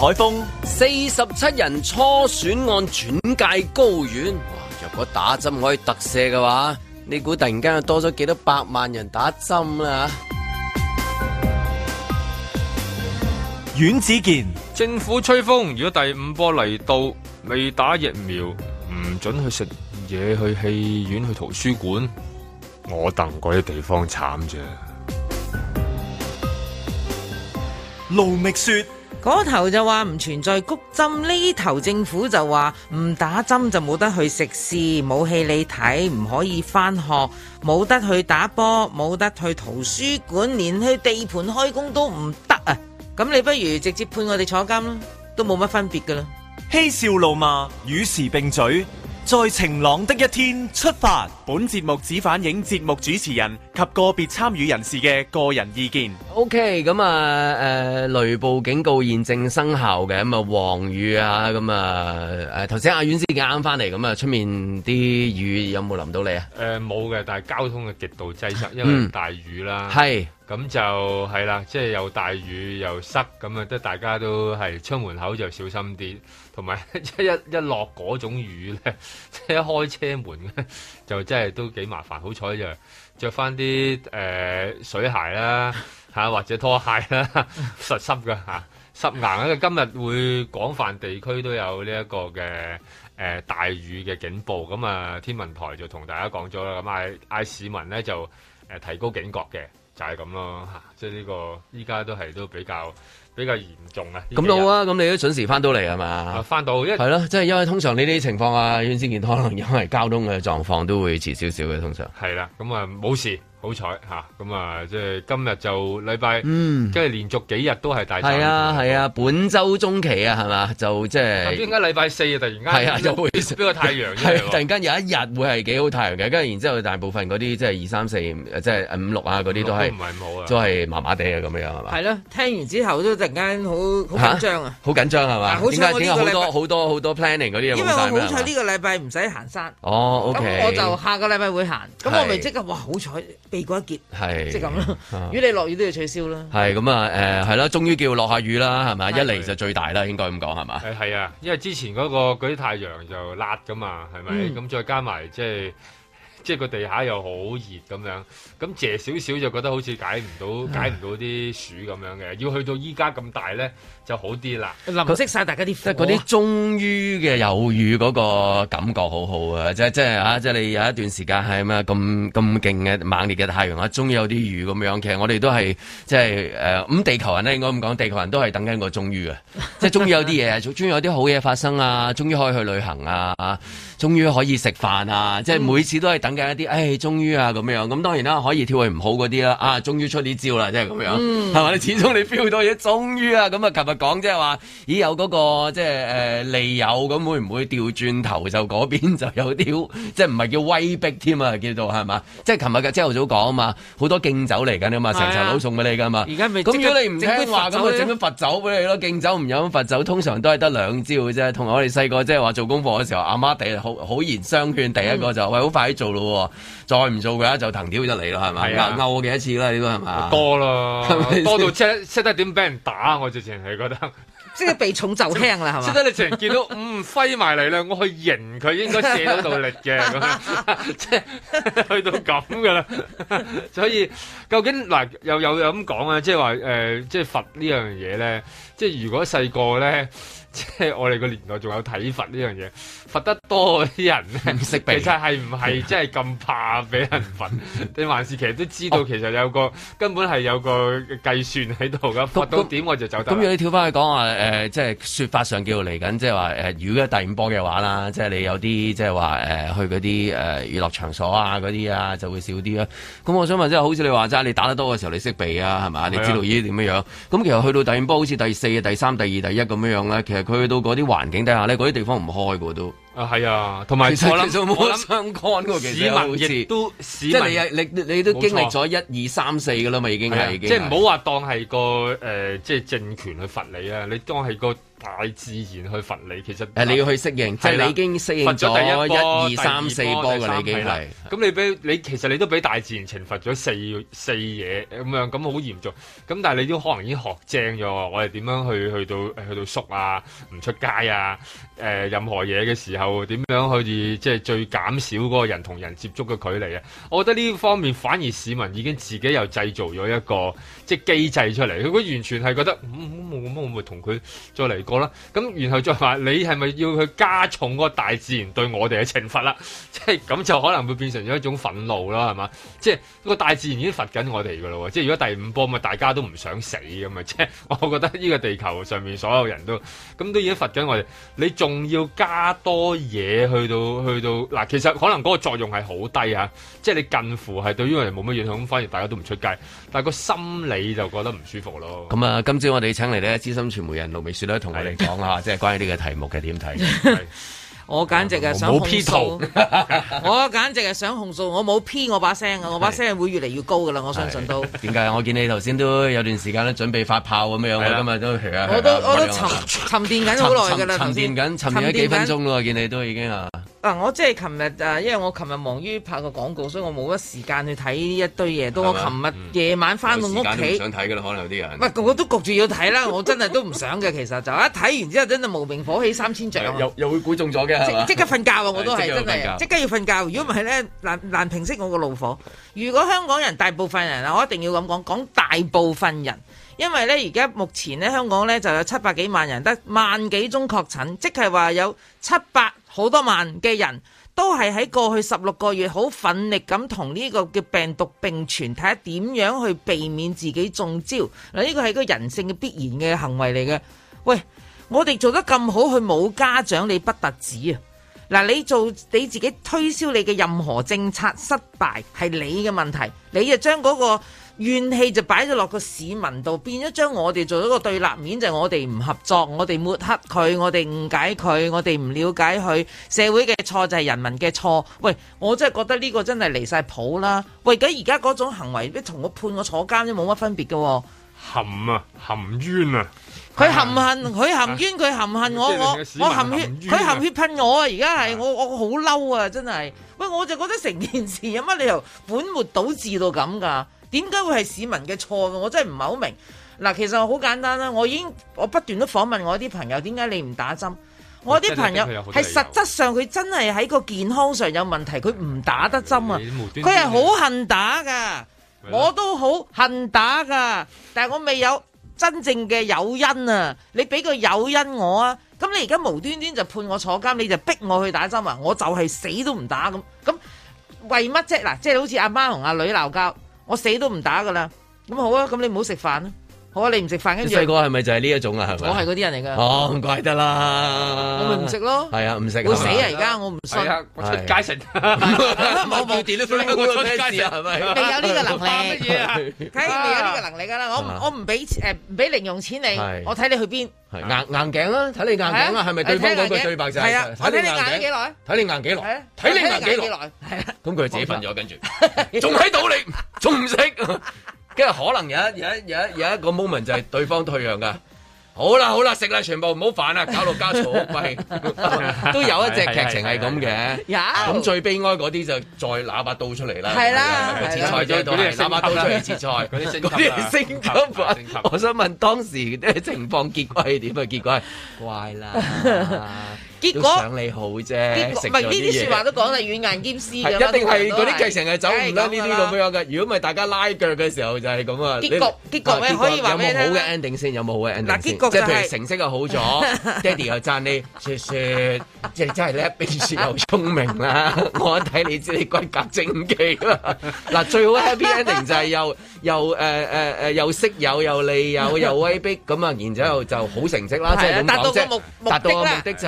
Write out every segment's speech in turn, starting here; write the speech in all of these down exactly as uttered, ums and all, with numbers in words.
海峰， 四十七人初選案轉介高院，哇！若果打針可以特赦嘅話，你估突然間又多咗幾多百萬人打針啦？ 阮子健， 政府吹風，如果第五波嚟到，未打疫苗，唔准去食嘢，去戲院，去圖書館，我戥嗰啲地方慘啫。 盧覓雪， 嗰頭就話唔存在谷針，呢頭政府就話唔打針就冇得去食肆，冇戲你睇，唔可以返學，冇得去打波，冇得去圖書館，連去地盤開工都唔得啊！咁你不如直接判我哋坐監啦，都冇乜分別噶啦。 嬉笑怒罵，與時並舉，在晴朗的一天出發。本節目只反映節目主持人及個別參與人士嘅個人意見。 OK， 咁啊，誒，雷暴警告現正生效嘅，咁啊，黃雨啊，咁啊，誒，頭先阿遠先啱翻嚟，咁啊，出面啲雨有冇淋到你啊？ 誒、呃，冇嘅，但係交通嘅極度擠塞，因為大雨啦。係、嗯。咁就係啦，即係又大雨又塞，咁啊，即係大家都係出門口就小心啲，同埋一一一落嗰種雨咧，即係一開車門咧，就真係都幾麻煩。好彩就着翻啲誒水鞋啦，嚇或者拖鞋啦，實濕㗎嚇，濕硬。因為今日會廣泛地區都有呢一個嘅誒、呃、大雨嘅警報，咁啊天文台就同大家講咗啦，咁嗌嗌市民咧就誒、呃、提高警覺嘅。就係咁咯嚇，即係呢個依家都係都比較比較嚴重啊！ 咁到啊，咁你都準時翻到嚟係嘛？ 翻到，因為係咯，即係因為通常呢啲情況啊，院先健可能因為交通嘅狀況都會遲少少嘅，通常係啦，咁啊冇事。好彩嚇，咁啊，即係今日就禮拜，嗯，即係連續幾日都係大雨。係啊係啊，本週中期啊，係嘛？就即係點解禮拜四啊，突然間係啊，就會俾個太陽， 係突然間有一日會係幾好太陽嘅，跟住然之後大部分嗰啲即係二三四，即係五六啊嗰啲都係唔係咁好啊， 都係麻麻地啊咁樣係嘛？ 係咯，聽完之後都突然間好好緊張啊！ 好緊張係嘛？點解點解好多好多好多 planning 嗰啲嘢冇晒？ 因為我好彩呢個禮拜唔使行山。 哦，OK。 咁我就下個禮拜會行，咁我咪即刻哇好彩避過一劫。係。即係咁咯，如果你落雨都要取消啦。係咁啊，誒係啦，終於叫落下雨啦，係咪？一嚟就最大啦，應該咁講係嘛？ 誒係啊，因為之前嗰個嗰啲太陽就辣噶嘛，係咪？咁、嗯、再加埋即係即係個地下又好熱咁樣，咁借少少就覺得好似解唔到解唔到啲暑咁樣嘅，要去到依家咁大咧就好啲啦。淋熄晒大家啲，即係嗰啲終於嘅有雨嗰個感覺好好啊！即係即係啊！即係你有一段時間係咩咁咁勁嘅猛烈嘅太陽啊，終於有啲雨咁樣。其實我哋都係即係誒咁地球人咧，應該咁講，地球人都係等緊個終於啊！即係終於有啲嘢，終於有啲好嘢發生啊！終於可以去旅行啊！終於可以食飯啊！即係每次都係等緊一啲，誒，終於啊咁樣。咁當然啦，可以跳去唔好嗰啲啦。啊，終於出啲招啦，即係咁樣，係嘛？你始終你 feel 到嘢，終於啊！咁啊，琴日講即係話，咦有嗰個即係誒利誘，咁會唔會調轉頭就嗰邊就有啲，即係唔係叫威逼添啊？叫做係嘛？即係琴日嘅朝頭早講啊嘛，好多敬酒嚟緊啊嘛，成層樓送俾你噶嘛。而家咪咁如果你唔聽話，咁啊整咗罰酒俾你咯。敬酒唔飲罰酒，通常都係得兩招嘅啫。同埋我哋細個即係話做功課嘅時候，阿媽哋好好言相勸，第一個就喂好快啲做咯，再唔做嘅話就藤條就嚟咯，係咪？勾勾我幾多次啦？呢個係嘛？ 多咯，多到識識得點俾人打，我直情係覺得。 即係避重就輕啦，係嘛？ 即係你成日見到嗯揮埋嚟啦，我去迎佢應該卸到到力嘅，咁即係去到咁噶啦。所以究竟嗱又又有咁講啊？即係話誒，即係罰呢樣嘢咧。即係如果細個咧，即係我哋個年代仲有體罰呢樣嘢，罰得多嗰啲人咧，唔識避，其實係唔係真係咁怕俾人罰？定還是其實都知道其實有個、哦、根本係有個計算喺度噶，罰到點我就走得。咁如果你跳翻去講話誒，即係説法上叫做嚟緊，即係話誒，如果第五波嘅話啦，即係你有啲即係話誒去嗰啲誒娛樂場所啊嗰啲啊就會少啲啦。咁我想問即係好似你話齋，你打得多嘅時候你識避啊係嘛？你知道呢啲點樣樣？咁其實去到第五波好似第四、第三、第二、第一咁樣樣咧，其實佢去到嗰啲環境底下咧，嗰啲地方唔開嘅都。啊，係啊，同埋其實其實冇相干嘅，其實好似亦都市民即係你你你都經歷咗一二三四嘅啦嘛，已經係，即係唔好話當係個誒、呃，即係政權去罰你啊，你當係個大自然去罰你，其實誒你要去適應，即係你已經適應咗一二三四波㗎，你已經係。 咁你俾你其實你都俾大自然懲罰咗四四嘢咁樣，咁好嚴重。咁但係你都可能已經學精咗，我哋點樣去去到去到縮啊，唔出街啊，誒、呃、任何嘢嘅時候點樣去即係最減少嗰個人同人接觸嘅距離啊？我覺得呢方面反而市民已經自己又製造咗一個即係機制出嚟，佢完全係覺得咁冇咁我咪同佢再嚟過啦。咁然後再話你係咪要去加重嗰個大自然對我哋嘅懲罰啦？即係咁就可能會變成咗一種憤怒啦，係嘛？即係個大自然已經罰緊我哋噶咯。即係如果第五波咪大家都唔想死咁嘛？即係我覺得呢個地球上面所有人都咁都已經罰緊我哋，你仲要加多嘢去到去到嗱，其實可能嗰個作用係好低啊，即係你近乎係對於我哋冇乜影響，咁反而大家都唔出街，但係個心理就覺得唔舒服咯。 咁啊，今朝我哋請嚟咧資深傳媒人盧美雪咧，同我哋講下，即係關於呢個題目嘅點睇。 我簡直係想控訴，我簡直係想控訴，我冇 P 我把聲啊，我把聲會越嚟越高噶啦，我相信都。 點解？我見你頭先都有段時間咧準備發炮咁樣，我今日都我都我都沉沉澱緊好耐噶啦， 沉澱緊，沉澱咗幾分鐘咯，我見你都已經啊。 嗱，我即係琴日誒，因為我琴日忙於拍個廣告，所以我冇乜時間去睇呢一堆嘢。到我琴日夜晚翻到屋企， 唔想睇噶啦，可能有啲人。 喂，我都焗住要睇啦，我真係都唔想嘅。其實就一睇完之後，真係無名火起三千丈。 又又會估中咗嘅， 即刻瞓覺啊！我都係真係，即刻要瞓覺。如果唔係咧，難難平息我個怒火。如果香港人大部分人啊，我一定要咁講，講大部分人，因為咧而家目前咧香港咧就有七百幾萬人，得萬幾宗確診，即係話有七百好多萬嘅人。都係喺過去十六個月好奮力咁同呢個嘅病毒並存，睇下點樣去避免自己中招。嗱，呢個係個人性嘅必然嘅行為嚟嘅。喂，我哋做得咁好，佢冇家長你不特止啊！嗱，你做你自己推銷你嘅任何政策失敗係你嘅問題，你就將嗰個怨氣就擺咗落個市民度，變咗將我哋做咗個對立面，就係我哋唔合作，我哋抹黑佢，我哋誤解佢，我哋唔了解佢，社會嘅錯就係人民嘅錯。喂，我真係覺得呢個真係離晒譜啦！喂，咁而家嗰種行為，同我判我坐監都冇乜分別嘅喎。 含啊，含冤啊！ 佢含恨，佢含冤，佢含恨我，我我含血，佢含血噴我啊！而家係我我好嬲啊！真係，喂，我就覺得成件事有乜理由本末倒置到咁㗎？點解會係市民嘅錯嘅？我真係唔係好明。嗱，其實好簡單啦，我已經我不斷都訪問我啲朋友，點解你唔打針？我啲朋友係實質上佢真係喺個健康上有問題，佢唔打得針啊！佢係好恨打㗎，我都好恨打㗎，但係我未有真正嘅誘因啊！你俾個誘因我啊！咁你而家無端端就判我坐監，你就逼我去打針啊！我就係死都唔打咁，咁為乜啫？嗱，即係好似阿媽同阿女鬧交。我死都唔打噶啦，咁好啊，咁你唔好食飯啦，好啊，你唔食飯跟住。細個係咪就係呢一種啊？係咪？ 我係嗰啲人嚟噶。 哦，唔怪得啦。 我咪唔食咯。 係啊，唔食。 會死啊！而家我唔信。 我出街食。 冇冇電都我出街食係咪？ 未有呢個能力。乜嘢啊？梗係未有呢個能力噶啦！我我唔俾誒唔俾零用錢你，我睇你去邊。 硬硬頸啦，睇你硬頸啊，係咪對方嗰句對白就係？ 係啊，睇你硬幾耐？ 睇你硬幾耐？睇你硬幾耐？係啊。咁佢自己瞓咗，跟住仲喺度你，仲唔食？跟住可能有一有一有一有一個 moment 就係對方退讓噶。好啦好啦，食啦，全部唔好煩啦，搞到家嘈屋閉，都有一隻劇情係咁嘅。有咁最悲哀嗰啲就再拿把刀出嚟啦。係啦，切菜啫，嗰啲拿把刀出嚟切菜，嗰啲升級啦。升級，我想問當時啲情況結果係點啊？結果係怪啦。結果想你好啫，唔係呢啲説話都講係軟硬兼施嘅，一定係嗰啲劇情係走唔甩呢啲咁樣嘅。如果唔係大家拉腳嘅時候就係咁啊。結局結局咧可以話咩咧？有冇好嘅 ending 先？有冇好嘅 ending 先？即係譬如成績又好咗，爹哋又讚你，雪雪即係真係叻，冰雪又聰明啦。我一睇你知你骨骼精奇啦。嗱，最好 happy ending 就係又又誒誒誒又識友又利友又威逼咁啊，然之後就好成績啦。即係咁講啫，達到個目的就係你。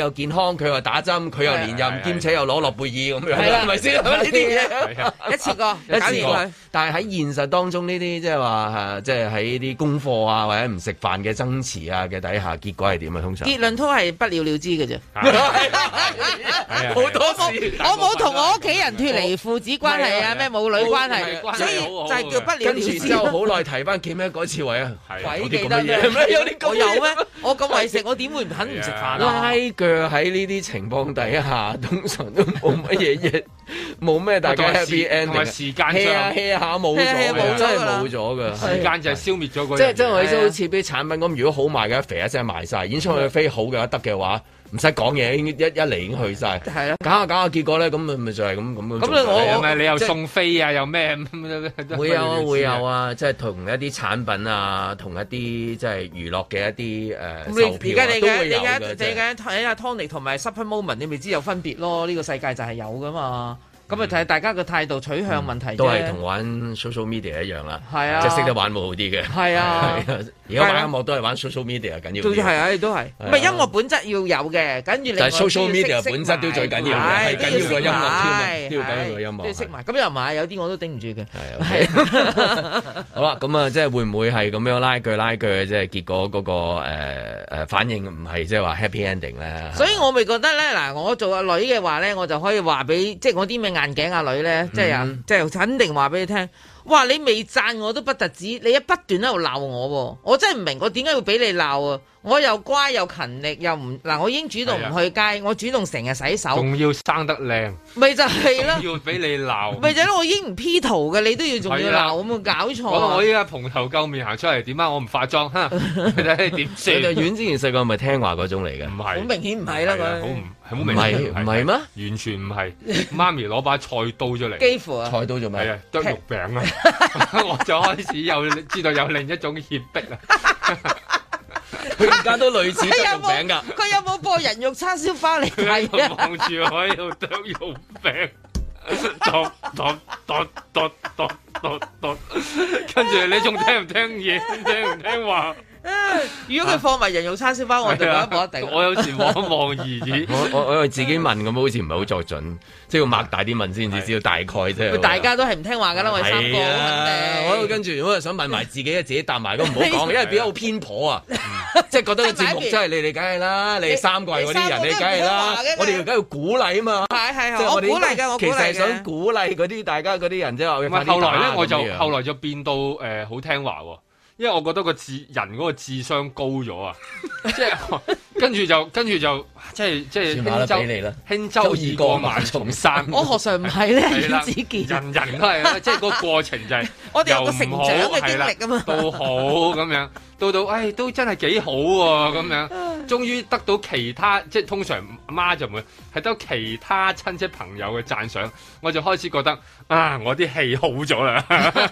又健康，佢又打針，佢又連任，兼且又攞諾貝爾咁樣，係咪先？呢啲嘢一次過，一次過。但係喺現實當中呢啲即係話即係喺啲功課啊或者唔食飯嘅爭持啊嘅底下，結果係點啊？通常結論都係不了了之嘅啫。 好多事， 我冇同我屋企人脫離父子關係啊，咩母女關係，所以就係叫不了了之。跟住之後好耐提翻記咩嗰次位啊？鬼記得咩？有啲我有咩？我咁為食，我點會肯唔食飯啊？ 拉腳喺呢啲情況底下，通常都冇乜嘢嘢，冇咩大家 happy ending，同埋時間上 hea 下冇咗，真係冇咗噶。時間就係消滅咗嗰。 即係即係我意思，好似啲產品咁，如果好賣嘅，肥一聲賣晒，演唱會飛好嘅話得嘅話。唔使講嘢，一一嚟已經去晒。係咯，搞下搞下，結果咧，咁咪咪就係咁咁樣。咁你我我你又送飛啊，又咩？ 會有啊，會有啊，即係同一啲產品啊，同一啲即係娛樂嘅一啲誒售票啊，都會有嘅。你而家你而家睇下 Tony 同埋 Super Moment，你咪知有分別咯？呢個世界就係有噶嘛。咁啊睇大家嘅態度取向問題啫。都係同玩 social media 一樣啦。係啊，即係識得玩會好啲嘅。係啊，而家玩音樂都係玩 social media 緊要啲。係啊，都係。唔係音樂本質要有嘅，跟住你。但係 social media 本質都最緊要嘅，係緊要個音樂添啊，都要緊要個音樂。都要識埋。咁又唔係，有啲我都頂唔住嘅。係啊。 好啦，咁啊，即係會唔會係咁樣拉鋸拉鋸，即係結果嗰個誒誒反應唔係即係話 happy ending 咧？ 所以我咪覺得咧，嗱，我做阿女嘅話咧，我就可以話俾即係我啲咩眼鏡阿女咧，即係啊，即係肯定話俾你聽。哇！你未讚我都不特止，你一不斷喺度鬧我，我真係唔明我點解要俾你鬧啊！我又乖又勤力又唔嗱，我已經主動唔去街，啊、我主動成日洗手， 仲要生得靚， 咪就係咯， 要俾你鬧， 咪就係咯，我已經唔 P 圖嘅，你都要仲要鬧，咁啊搞錯！ 我依家蓬頭垢面行出嚟，點解我唔化妝？哈，你睇點算？ 你就遠之前細個係咪聽話嗰種嚟嘅？ 唔係， 好明顯唔係啦，佢好唔好明顯唔係咩？ 完全唔係，媽咪攞把菜刀出嚟， 幾乎啊！ 菜刀做咩？ 係啊，剁肉餅啊！我就開始有知道有另一種脅迫啦。 佢而家都類似剁肉餅㗎。 佢有冇播人肉叉燒包嚟睇啊？ 望住我喺度剁肉餅，剁剁剁剁剁剁剁，跟住你仲聽唔聽嘢？聽唔聽話？ 如果佢放埋人肉叉燒包，我就覺得冇一定。 我有時望一望而已。 我我我自己問咁，好似唔係好作準，即係要擘大啲問先至知道大概啫。 大家都係唔聽話㗎啦，我哋三個肯定。 我跟住我又想問埋自己，自己答埋都唔好講，因為變咗好偏頗啊！即係覺得個節目真係你哋梗係啦，你哋三個嗰啲人你梗係啦，我哋梗係要鼓勵啊嘛。係係係，我鼓勵㗎，我鼓勵嘅。其實係想鼓勵嗰啲大家嗰啲人即係話。唔係後來咧，我就後來就變到誒好聽話喎。因為我覺得個智人嗰個智商高咗啊，即係跟住就跟住就即係即係輕舟輕舟已過萬重山。 我何嘗唔係咧？阮子健人人都係啦，即係個過程就係我哋有個成長嘅經歷啊嘛， 到好咁樣，到到誒都真係幾好喎咁樣，終於得到其他即係通常阿媽就唔會係得其他親戚朋友嘅讚賞，我就開始覺得啊，我啲戲好咗啦，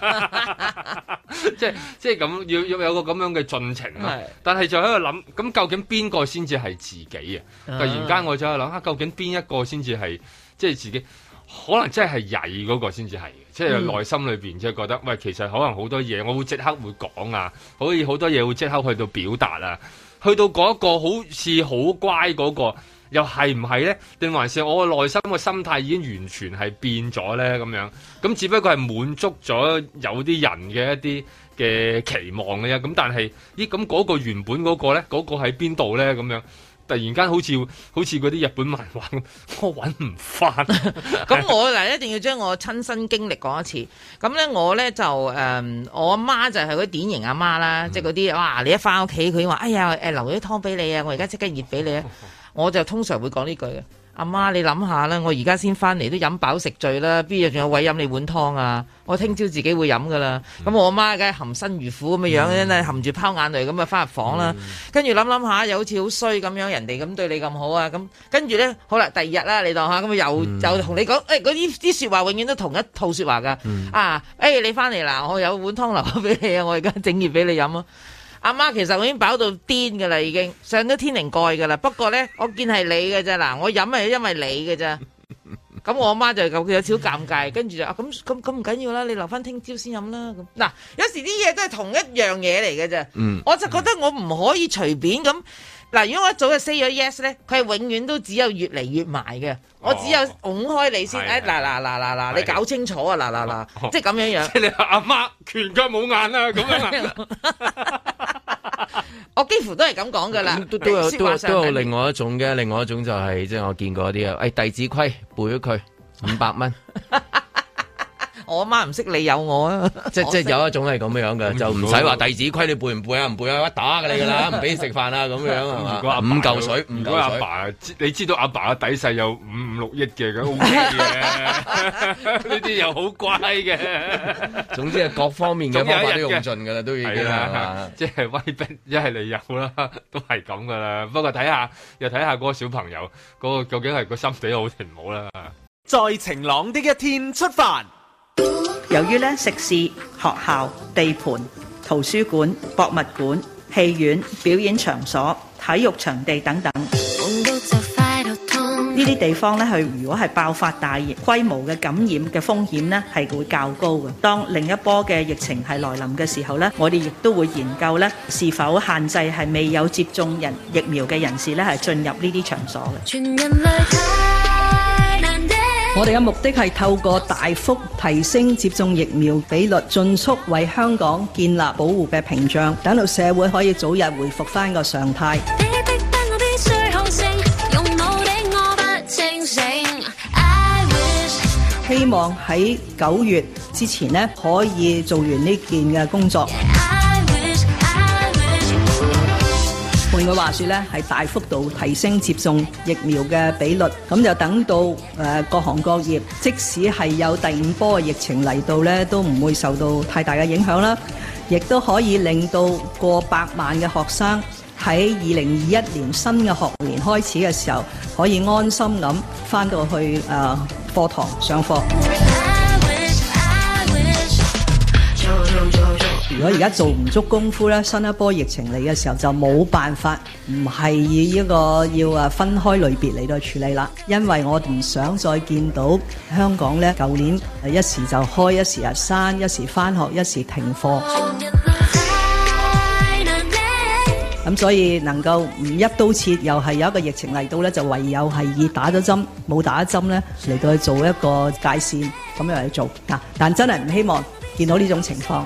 即係即係咁。要要有個咁樣嘅進程咯，是但係就喺度諗，咁究竟邊個先至係自己啊？突然間我就喺度諗下，究竟邊一個先至係即係自己？可能真係曳嗰個先至係，即係內心裏邊即係覺得，喂，其實可能好多嘢我會即刻會講啊，可以好多嘢會即刻去到表達啊，去到嗰一個好似好乖嗰個。又係唔係咧？定還是我嘅內心嘅心態已經完全係變咗咧？咁樣咁只不過係滿足咗有啲人嘅一啲嘅期望嘅啫。咁但係咦咁嗰個原本嗰個咧，嗰、嗰個喺邊度咧？咁樣突然間好似好似嗰啲日本漫畫咁，我揾唔翻。 咁我嗱一定要將我親身經歷講一次。咁咧我咧就誒、嗯，我阿媽就係嗰啲典型阿媽啦，嗯、即係嗰啲哇！你一翻屋企佢話：哎呀誒，留咗啲湯俾你啊！我而家即刻熱俾你啊！我就通常會講呢句嘅，阿媽你諗下啦，我而家先翻嚟都飲飽食醉啦，邊日仲有位飲你碗湯啊？我聽朝自己會飲噶啦。咁、嗯、我阿媽梗係含辛茹苦咁嘅樣，真係、嗯、含住拋眼淚咁啊翻入房啦。跟住諗諗下，又好似好衰咁樣，人哋咁對你咁好啊。咁跟住咧，好啦，第二日啦，你當下咁又、嗯、又同你講，誒嗰啲啲説話永遠都同一套説話噶。嗯、啊，誒、欸、你翻嚟啦，我有碗湯留咗俾你啊，我而家整熱俾你飲啊。阿媽其實我已經飽到癲噶啦，已經上咗天靈蓋噶啦。不過咧，我見係你嘅啫，嗱，我飲係因為你嘅啫。咁我阿媽就有有少少尷尬，跟住就啊咁咁咁唔緊要啦，你留翻聽朝先飲啦。咁嗱，有時啲嘢都係同一樣嘢嚟嘅啫。嗯，我就覺得我唔可以隨便咁嗱，如果我一早就 say 咗 yes 咧，佢係永遠都只有越嚟越埋嘅。我只有拱開你先，誒嗱嗱嗱嗱嗱，你搞清楚啊嗱嗱嗱，即係咁樣樣。 即係你阿媽拳腳冇眼啊咁樣啊！ 我幾乎都係咁講噶啦。 都都有都有都有另外一種嘅，另外一種就係即係我見過啲啊，誒弟子規背咗佢五百蚊。 我阿媽唔識你有我啊！ 即即有一種係咁樣嘅，就唔使話弟子規你背唔背啊？唔背啊，打㗎你㗎啦，唔俾你食飯啊咁樣係嘛？五嚿水，五嚿水。阿爸， 你知道阿爸嘅底細有五五六億嘅，咁 O K 嘅。呢啲又好乖嘅。 總之係各方面嘅方法都用盡㗎啦，都已經係嘛？ 即係威逼，一係你有啦，都係咁㗎啦。不過睇下又睇下嗰個小朋友嗰個究竟係個心地好定唔好啦。 在晴朗的一天出發。 由於咧食肆、學校、地盤、圖書館、博物館、戲院、表演場所、體育場地等等，呢啲地方咧，佢如果係爆發大規模嘅感染嘅風險咧，係會較高嘅。當另一波嘅疫情係來臨嘅時候咧，我哋亦都會研究咧是否限制係未有接種人疫苗嘅人士咧係進入呢啲場所嘅。 我哋嘅目的係透過大幅提升接種疫苗比率，盡速為香港建立保護嘅屏障，等到社會可以早日回復返個常態。希望喺九月之前呢，可以做完呢件嘅工作。換句話說咧，係大幅度提升接種疫苗嘅比率，咁就等到誒、呃、各行各業，即使係有第五波嘅疫情嚟到咧，都唔會受到太大嘅影響啦，亦都可以令到過百萬嘅學生喺二零二一年新嘅學年開始嘅時候，可以安心咁返到去誒、呃、課堂上課。如果而家做唔足功夫咧，新一波疫情嚟嘅時候就冇辦法，唔係以一個要啊分開類別嚟到處理啦。因為我唔想再見到香港咧，舊年一時就開，一時啊閂，一時返學，一時停課。咁所以能夠唔一刀切，又係有一個疫情嚟到咧，就唯有係以打咗針冇打針咧嚟到去做一個界線，咁樣嚟做嗱。但真係唔希望見到呢種情況。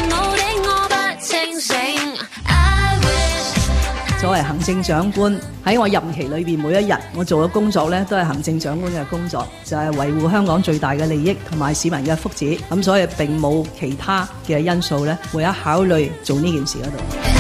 作為行政長官喺我任期裏邊，每一日我做嘅工作咧，都係行政長官嘅工作，就係維護香港最大嘅利益同埋市民嘅福祉。咁所以並冇其他嘅因素咧，會一考慮做呢件事嗰度。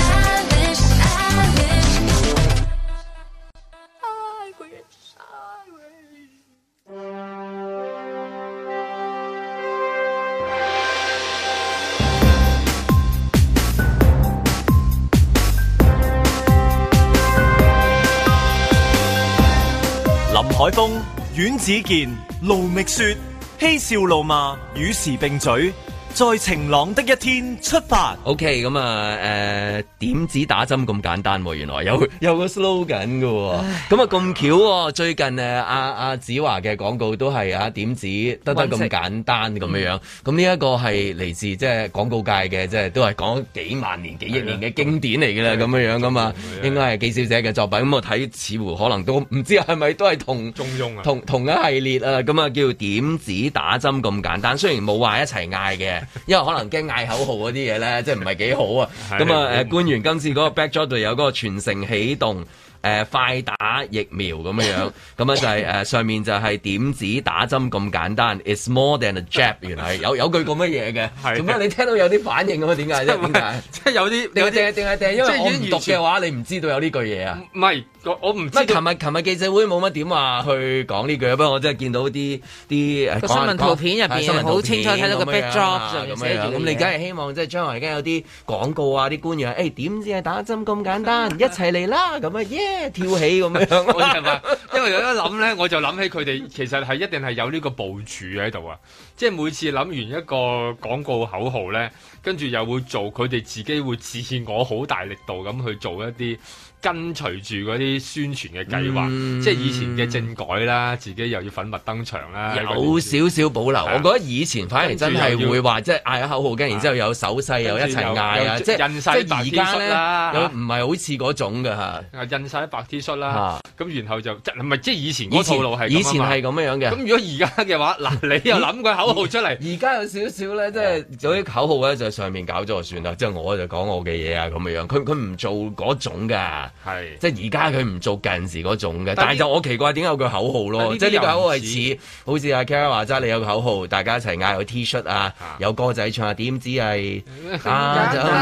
海峰、阮子健、盧覓雪，嬉笑怒罵，與時並舉，在晴朗的一天出發。 OK，咁啊，誒，點止打針咁簡單？原來有有個 slogan 嘅，咁啊咁巧喎。最近誒，阿阿子華嘅廣告都係啊點止得得咁簡單咁樣樣。咁呢一個係嚟自即係廣告界嘅，即係都係講幾萬年、幾億年嘅經典嚟嘅啦，咁樣樣噶嘛。應該係紀小姐嘅作品。咁我睇似乎可能都唔知係咪都係同中庸啊， 同同一系列啊。咁啊叫點止打針咁簡單。雖然冇話一齊嗌嘅。因為可能驚嗌口號嗰啲嘢咧，即係唔係幾好啊！咁啊，誒官員今次嗰個 backdrop 度有嗰個全城起動。誒、呃、快打疫苗咁樣樣，咁啊就係、是、誒、呃、上面就係點止打針咁簡單 ，It's more than a jab， 原來有有句咁乜嘢嘅，做咩你聽到有啲反應咁啊？點解啫？點解？即係有啲定係定係定係定係因為我唔讀嘅話，你唔知道有呢句嘢啊？唔係，我唔知。乜？琴日琴日記者會冇乜點話去講呢句，不過我真係見到啲啲誒新聞圖片入邊好清楚睇到個 backdrop 上面寫住咁你梗係希望即係將來而家有啲廣告啊，啲官員誒點止係打針咁簡單，一齊嚟啦咁啊耶！跳起咁樣， 我係咪？因為有一諗咧，我就諗起佢哋其實係一定係有呢個部署喺度啊！即係每次諗完一個廣告口號咧，跟住又會做佢哋自己會自我好大力度咁去做一啲跟隨住嗰啲宣傳嘅計劃， 嗯、 即係以前嘅政改啦，自己又要粉墨登場啦， 有少少保留。我覺得以前反而真係會話，即係嗌口號，跟然之後有手勢，又一齊嗌啊，即係印晒白 T 恤啦， 又唔係好似嗰種㗎嚇。 印晒白 T 恤啦，咁然後就即係唔係即係以前嗰套路係以前係咁樣嘅。 咁如果而家嘅話，嗱你又諗個口號出嚟， 而家有少少咧，即係有啲口號咧就上面搞咗就算啦，即係我就講我嘅嘢啊咁樣。佢佢唔做嗰種㗎，係即係而家佢唔做近時嗰種嘅。但係就我奇怪點解有句口號咯？即係呢個口號係似好似阿 Kara 話齋，你有個口號，大家一齊嗌個 T 恤啊，有歌仔唱下，點知係啊就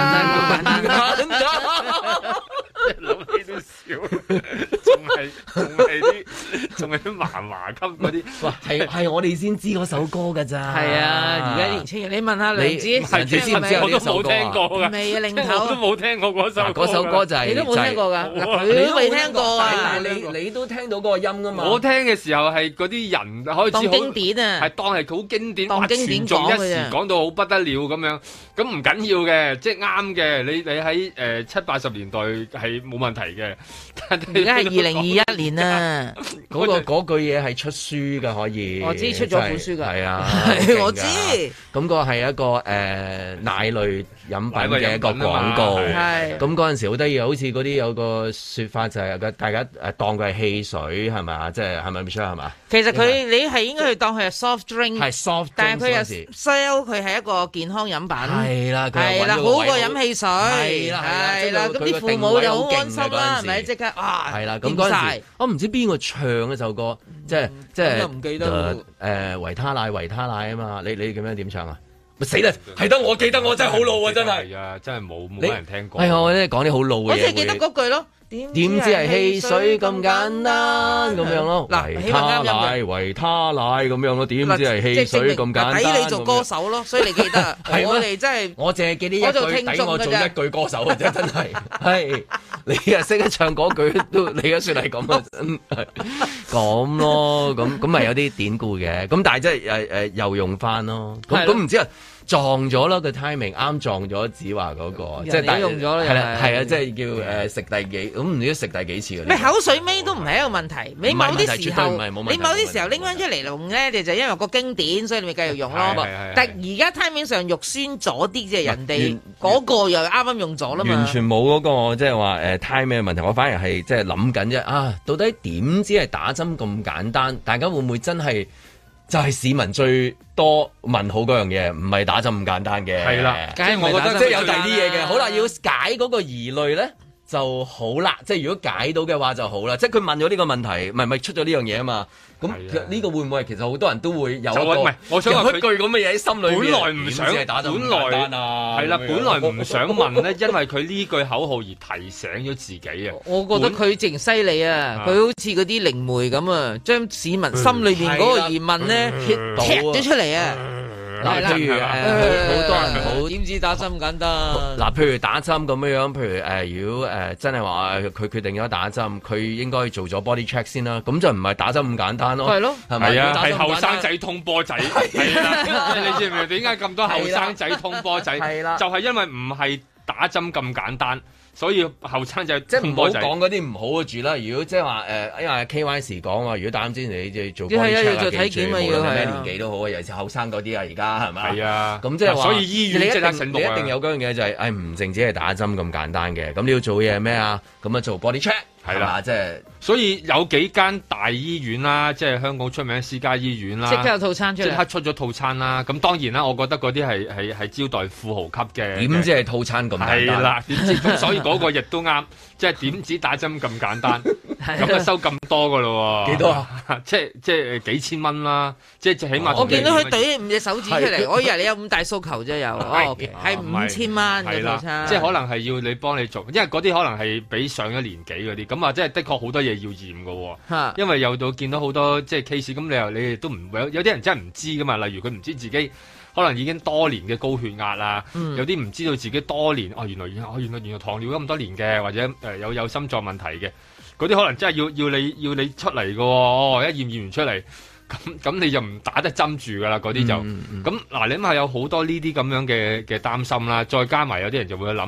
諗起都笑，仲係仲係啲仲係啲麻麻級嗰啲， 哇係係我哋先知嗰首歌㗎咋。 係啊，而家年青人，你問下梁子， 你知唔知我都冇聽過㗎， 未啊，零頭我都冇聽過嗰首嗰首歌就係你都冇聽過㗎，你都未聽過啊？ 但係你你都聽到嗰個音㗎嘛？ 我聽嘅時候係嗰啲人開始當經典啊， 係當係好經典， 當經典講一時嘅， 講到好不得了咁樣，咁唔緊要嘅，即係啱嘅。你你喺誒七八十年代係冇問題嘅，但係而家係二零二一年啊， 嗰個嗰句嘢係出書㗎，可以。 我知出咗本書㗎， 係啊， 我知。 咁個係一個誒奶類飲品嘅一個廣告，咁嗰陣時好得意，好似嗰啲有個説法就係大家誒當佢係汽水係咪啊？即係係咪 Michelle 係嘛？ 其實佢你係應該去當佢係 soft drink， 係 soft drink， 但係佢又 sell 佢係一個健康飲品， 係啦， 係啦，好過飲汽水， 係啦， 係啦，咁啲父母就好安心啦，係咪？即刻啊， 係啦，咁嗰陣時我唔知邊個唱嗰首歌，即係即係唔記得誒維他奶維他奶啊嘛，你你咁樣點唱啊？死啦！係得我記得，我真係好老啊！真係， 係啊，真係冇冇人聽過。 係啊，我咧講啲好老嘅嘢。 我淨係記得嗰句咯。點知係汽水咁簡單咁樣咯？ 嗱， 維他奶維他奶咁樣咯？點知係汽水咁簡單？ 抵你做歌手咯，所以你記得。我哋真係， 我淨係記呢一句，抵我做一句歌手嘅啫，真係。係你啊，識得唱嗰句都，你而家算係咁啊，真係咁咯。咁咁咪有啲典故嘅。咁但係即係誒誒又用翻咯。咁咁唔知啊。撞咗咯，個 timing 啱撞咗子華嗰個，即係大用咗係啦，係啊，即係叫誒食第幾咁唔知食第幾次嘅。 咩口水尾都唔係一個問題，你某啲時候你某啲時候拎翻出嚟用咧，你就因為個經典，所以你咪繼續用咯。但係而家 timing 上肉酸咗啲，即係人哋嗰個又啱啱用咗啦嘛。 完全冇嗰個即係話誒 timing 嘅問題，我反而係即係諗緊啫啊！到底點知係打針咁簡單？大家會唔會真係？就係市民最多問號嗰樣嘢，唔係打針咁簡單嘅。係啦，即係我覺得即係有第二啲嘢嘅。好啦，要解嗰個疑慮咧就好啦。即係如果解到嘅話就好啦。即係佢問咗呢個問題，唔係咪出咗呢樣嘢啊嘛？咁呢個會唔會其實好多人都會有一個唔係，我想話一句咁嘅嘢喺心裏邊。 本來唔想，本來係啦，本來唔想問咧，因為佢呢句口號而提醒咗自己啊。 我覺得佢勁犀利啊！佢好似嗰啲靈媒咁啊，將市民心裏邊嗰個疑問咧踢咗出嚟啊！ 嗱，譬如誒，好多人好點知打針咁簡單？ 嗱，譬如打針咁樣樣，譬如誒，如果誒真係話佢決定咗打針，佢應該做咗 body check 先啦。咁就唔係打針咁簡單咯。 係咯， 係咪啊？係後生仔通波仔，係啦。你知唔知點解咁多後生仔通波仔？係啦，就係因為唔係打針咁簡單。所以後生就即係唔好講嗰啲唔好嘅住啦。如果即係話誒，因為 K Y 時講話，如果打針之前你即係做 body check 啊，記住無論咩年紀都好啊，尤其是後生嗰啲啊，而家係咪？係啊，咁即係話，所以醫院即刻醒目啊！你一定有嗰樣嘢就係誒，唔淨止係打針咁簡單嘅，咁你要做嘢咩啊？咁啊做 body check 係啦，即係所以有幾間大醫院啦，即係香港出名私家醫院啦， 即刻有套餐出嚟， 即刻出咗套餐啦。咁當然啦，我覺得嗰啲係係係招待富豪級嘅， 點知係套餐咁簡單？係啦， 點知咁所以嗰個亦都啱，即係點止打針咁簡單，咁啊收咁多噶咯喎？幾多啊？即係即係幾千蚊啦，即係起碼。 我見到佢舉五隻手指出嚟，我以為你有五大訴求啫，有哦，係五千蚊嘅套餐， 即係可能係要你幫你做，因為嗰啲可能係比上一年紀嗰啲，咁啊，即係的確好多嘢要驗噶，因為有到見到好多即係 case，咁你又你哋都唔有有啲人真係唔知噶嘛，例如佢唔知自己可能已經多年嘅高血壓啊，嗯、有啲唔知道自己多年哦，原來哦原來原來糖尿咁多年嘅，或者誒、呃、有有心臟問題嘅，嗰啲可能真係要要你要你出嚟噶，哦一驗驗完出嚟，咁咁你就唔打得針住噶啦，嗰啲就咁嗱、嗯嗯，你諗下有好多呢啲咁樣嘅嘅擔心啦，再加埋有啲人就會諗。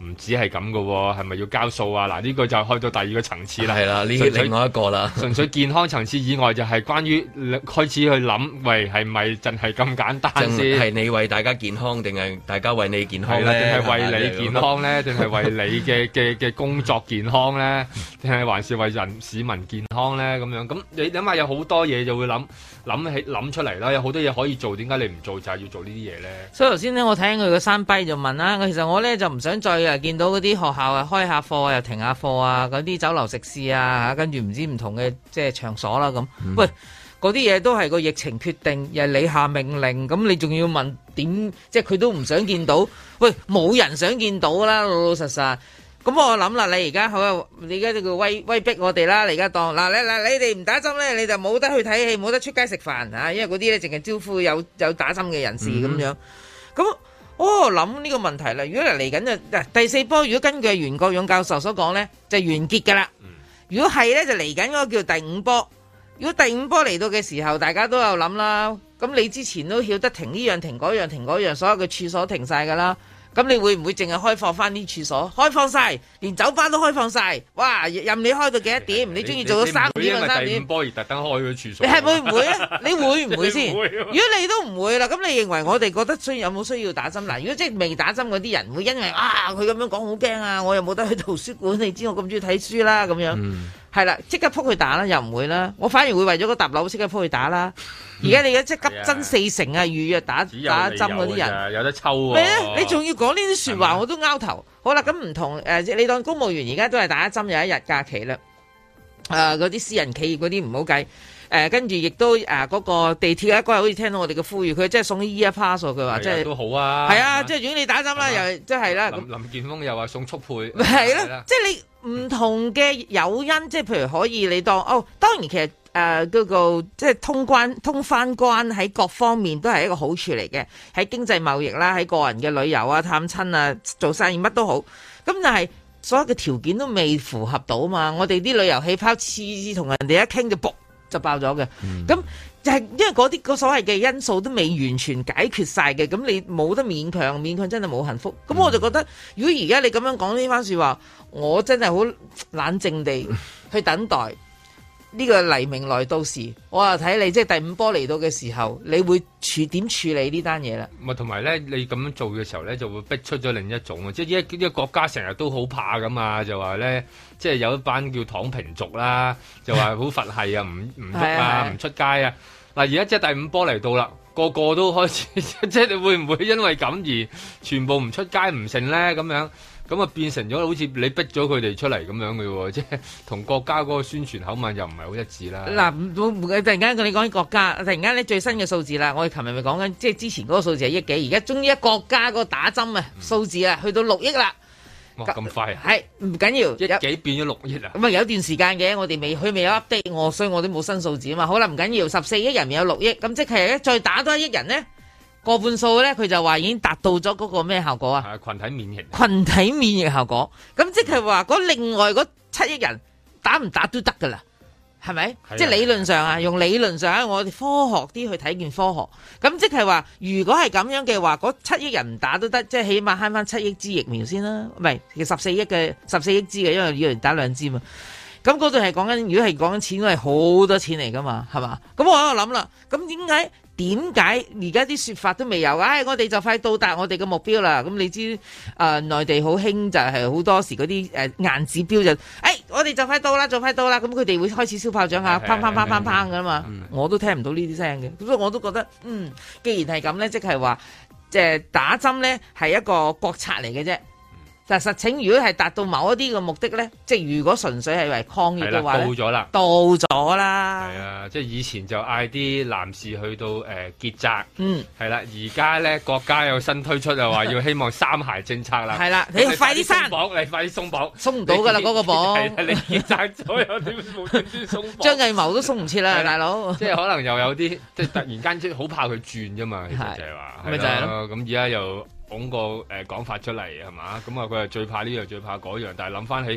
唔止係咁噶喎，係咪要交數啊？嗱，呢、這個就開到第二個層次啦。 係啦，呢另外一個啦。純粹健康層次以外，就係關於開始去諗，喂，係咪真係咁簡單先？ 係你為大家健康，定係大家為你健康咧？ 定係為你健康咧？定係為你嘅嘅嘅工作健康咧？定係還是為人市民健康咧？咁樣咁你諗下，有好多嘢就會諗諗起諗出嚟啦。有好多嘢可以做，點解你唔做？就係要做呢啲嘢咧？ 所以頭先咧，我睇佢個山跛就問啦，其實我咧就唔想再啊見到嗰啲學校啊開下課啊又停下課啊，嗰啲酒樓食肆啊，跟住唔知唔同嘅即係場所啦咁。嗯、喂，嗰啲嘢都係個疫情決定，又係你下命令，咁你仲要問點？即係佢都唔想見到。喂，冇人想見到啦，老老實實。咁我諗啦，你而家好，你而家呢個威威逼我哋啦，你而家當嗱你嗱你哋唔打針咧，你就冇得去睇戲，冇得出街食飯啊，因為嗰啲咧淨係招呼有有打針嘅人士咁、嗯、樣。咁我諗呢個問題啦，如果嚟緊就嗱第四波，如果根據袁國勇教授所講咧，就完結噶啦。如果係咧，就嚟緊嗰個叫第五波。如果第五波嚟到嘅時候，大家都有諗啦。咁你之前都曉得停呢樣停嗰樣停嗰樣，所有嘅處所停晒噶啦。咁你會唔會淨係開放翻啲處所？開放晒，連酒吧都開放晒。哇！任你開到幾多點，你中意做到三點就三點。 第五波而特登開嗰處所， 你係會唔會啊？你會唔會先？會如果你都唔會啦，咁你認為我哋覺得需有冇需要打針？嗱，如果即係未打針嗰啲人，會因為啊佢咁樣講好驚啊，我又冇得去圖書館，你知我咁中意睇書啦咁樣。係啦、嗯，即刻撲去打啦，又唔會啦。我反而會為咗個搭樓即刻撲去打啦。而家你而家即係急增四成啊！預約打打針嗰啲人有得抽喎。 咩啊？你仲要講呢啲説話，我都拗頭。好啦，咁唔同誒、呃，你當公務員而家都係打一針有一日假期啦。誒、呃，嗰啲私人企業嗰啲唔好計。誒、呃，跟住亦都誒嗰、呃那個地鐵嗰日好似聽到我哋嘅呼籲，佢即係送啲 E Pass 佢話即係都好啊。 係啊，即係如果你打針啦，又即係啦。 林林健鋒又話送速配。 係啦，即係你唔同嘅誘因，即係譬如可以你當哦，當然其實。誒，嗰、呃那個即係通關通翻關喺各方面都係一個好處嚟嘅，喺經濟貿易啦，喺個人嘅旅遊啊、探親啊、做生意乜都好。咁但係所有嘅條件都未符合到嘛，我哋啲旅遊氣泡次次同人哋一傾就卜就爆咗嘅。咁、嗯、就係因為嗰啲個所謂嘅因素都未完全解決晒嘅，咁你冇得勉強，勉強真係冇幸福。咁我就覺得，如果而家你咁樣講呢番說話，我真係好冷靜地去等待。呢個黎明來到時，我又睇你即係第五波嚟到嘅時候，你會處點處理呢單嘢啦？ 咪同埋咧，你咁樣做嘅時候咧，就會逼出咗另一種啊！即係一呢個國家成日都好怕咁啊，就話咧，即係有一班叫躺平族啦，就話好佛系啊，唔唔喐啊，唔出街啊。嗱，而家即係第五波嚟到啦，個個都開始，即係你會唔會因為咁而全部唔出街唔成咧？咁樣？咁啊，變成咗好似你逼咗佢哋出嚟咁樣嘅喎，即係同國家嗰個宣傳口吻又唔係好一致啦。嗱， 突然間你講起國家，突然間你最新嘅數字啦，我哋琴日咪講緊，即係之前嗰個數字係億幾，而家終於國家個打針啊數字啊，去到六億啦。 哇，咁快啊！ 係唔緊要， 億幾變咗六億啊？ 咁啊有段時間嘅，我哋未佢未有 update 我，所以我都冇新數字啊嘛。好啦，唔緊要，十四億人有六億，咁即係再打多一億人呢？過半數咧，佢就話已經達到咗嗰個咩效果啊？ 群體免疫， 群體免疫效果。咁即係話嗰另外嗰七億人打唔打都得噶啦，係咪？啊、即係理論上啊，用理論上，我哋科學啲去睇件科學。咁即係話，如果係咁樣嘅話，嗰七億人唔打都得，即係起碼慳翻七億支疫苗先啦。唔係，其實十四億嘅十四億支嘅，因為要人打兩支嘛。咁嗰度係講緊，如果係講緊錢，都係好多錢嚟噶嘛，係嘛？咁我喺度諗啦，咁點解？點解而家啲說法都未有？唉、哎，我哋就快到達我哋嘅目標啦。咁你知誒、呃，內地好興就係好多時嗰啲誒硬指標就，誒、哎，我哋就快到啦，就快到啦。咁佢哋會開始燒炮仗啊，砰砰砰砰砰噶嘛。嗯、我都聽唔到呢啲聲嘅，咁所以我都覺得，嗯，既然係咁咧，即係話，即係打針咧係一個國策嚟嘅啫。但實情如果係達到某一啲嘅目的咧，即係如果純粹係為抗疫嘅話咧， 到咗啦， 到咗啦。 係啊，即係以前就嗌啲男士去到誒、呃、結紮， 嗯，係啦，而家咧國家有新推出就話要希望三孩政策啦， 係啦，你快啲生綁，你快啲鬆綁， 鬆唔到㗎啦嗰個綁， 係啊，你結紮咗有啲無端端鬆綁， 張藝謀都鬆唔切啦，大佬， 即係可能又有啲即係突然間即係好怕佢轉啫嘛，其實就係話， 咪就係咯， 咁而家又。講個誒講法出嚟係嘛？咁啊佢係最怕呢樣最怕嗰樣，但係諗翻起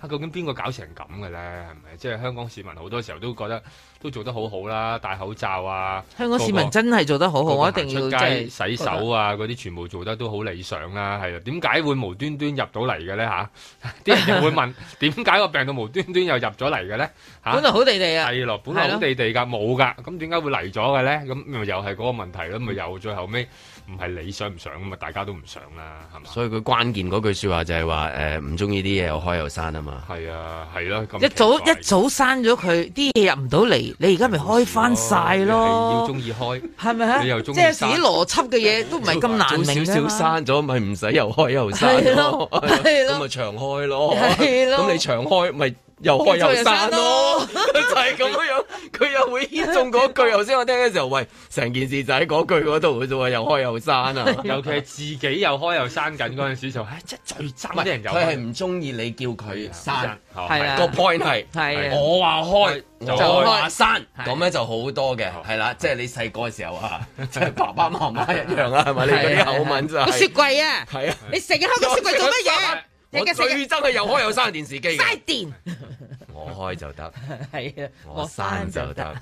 啊，究竟邊個搞成咁嘅咧？係咪？即係香港市民好多時候都覺得都做得好好啦，戴口罩啊， 香港市民真係做得好好，我一定要出街洗手啊，嗰啲得全部做得都好理想啦。係啊，點解會無端端入到嚟嘅咧？嚇，啲人又會問點解個病毒無端端又入咗嚟嘅咧？嚇， 本來好地地啊， 係咯，本來好地地㗎，冇㗎，咁點解會嚟咗嘅咧？咁咪又係嗰個問題咯，咪又最後尾唔係你想唔想咁啊？大家都唔想啦，係嘛？ 所以佢關鍵嗰句説話就係話誒唔中意啲嘢又開又閂啊嘛。 係啊，係咯， 一早一早閂咗佢，啲嘢入唔到嚟，你而家咪開翻晒咯。 要中意開， 係咪啊？ 你又中意即係有時啲邏輯嘅嘢都唔係咁難明少少閂咗，咪唔使又開又閂咯，咁咪長開咯。咁你長開咪又開又閂咯，就係咁樣。佢又會牽中嗰句。頭先我聽嘅時候，喂，成件事就喺嗰句嗰度嘅啫喎，又開又閂啊！ 尤其係自己又開又閂緊嗰陣時就，唉，即係最憎啲人又佢係唔中意你叫佢閂， 係啊， 個 point 係係我話開就我話閂，咁咧就好多嘅，係啦，即係你細個嘅時候啊，即係爸爸媽媽一樣啊，係咪？你嗰啲口吻就係個雪櫃啊， 係啊， 你成日開個雪櫃做乜嘢？ 我最憎係又開又閂電視機嘅， 嘥電。 我開就得， 係啊， 我閂就得。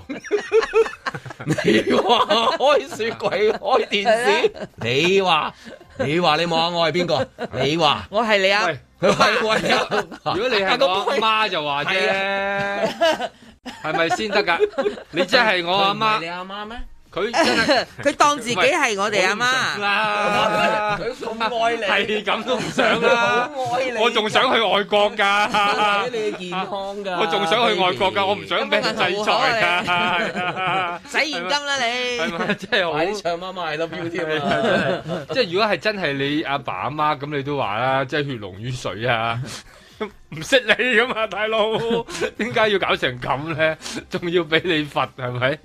你話開雪櫃開電視，你話你話你望下我係邊個？你話我係你啊？ 喂，如果你係我阿媽就話啫，係咪先得噶？你真係我阿媽， 你阿媽咩？ 佢真係佢當自己係我哋阿媽啦， 佢咁愛你， 係咁都唔想啦，我仲想去外國㗎， 為咗你嘅健康㗎， 我仲想去外國㗎，我唔想俾人制裁㗎， 使現金啦你， 係咪？真係好唱媽媽 I love you 添啊！ 真係，即係如果係真係你阿爸阿媽咁，你都話啦，即係血濃於水啊！唔識你㗎嘛，大佬，點解要搞成咁咧？仲要俾你罰係咪？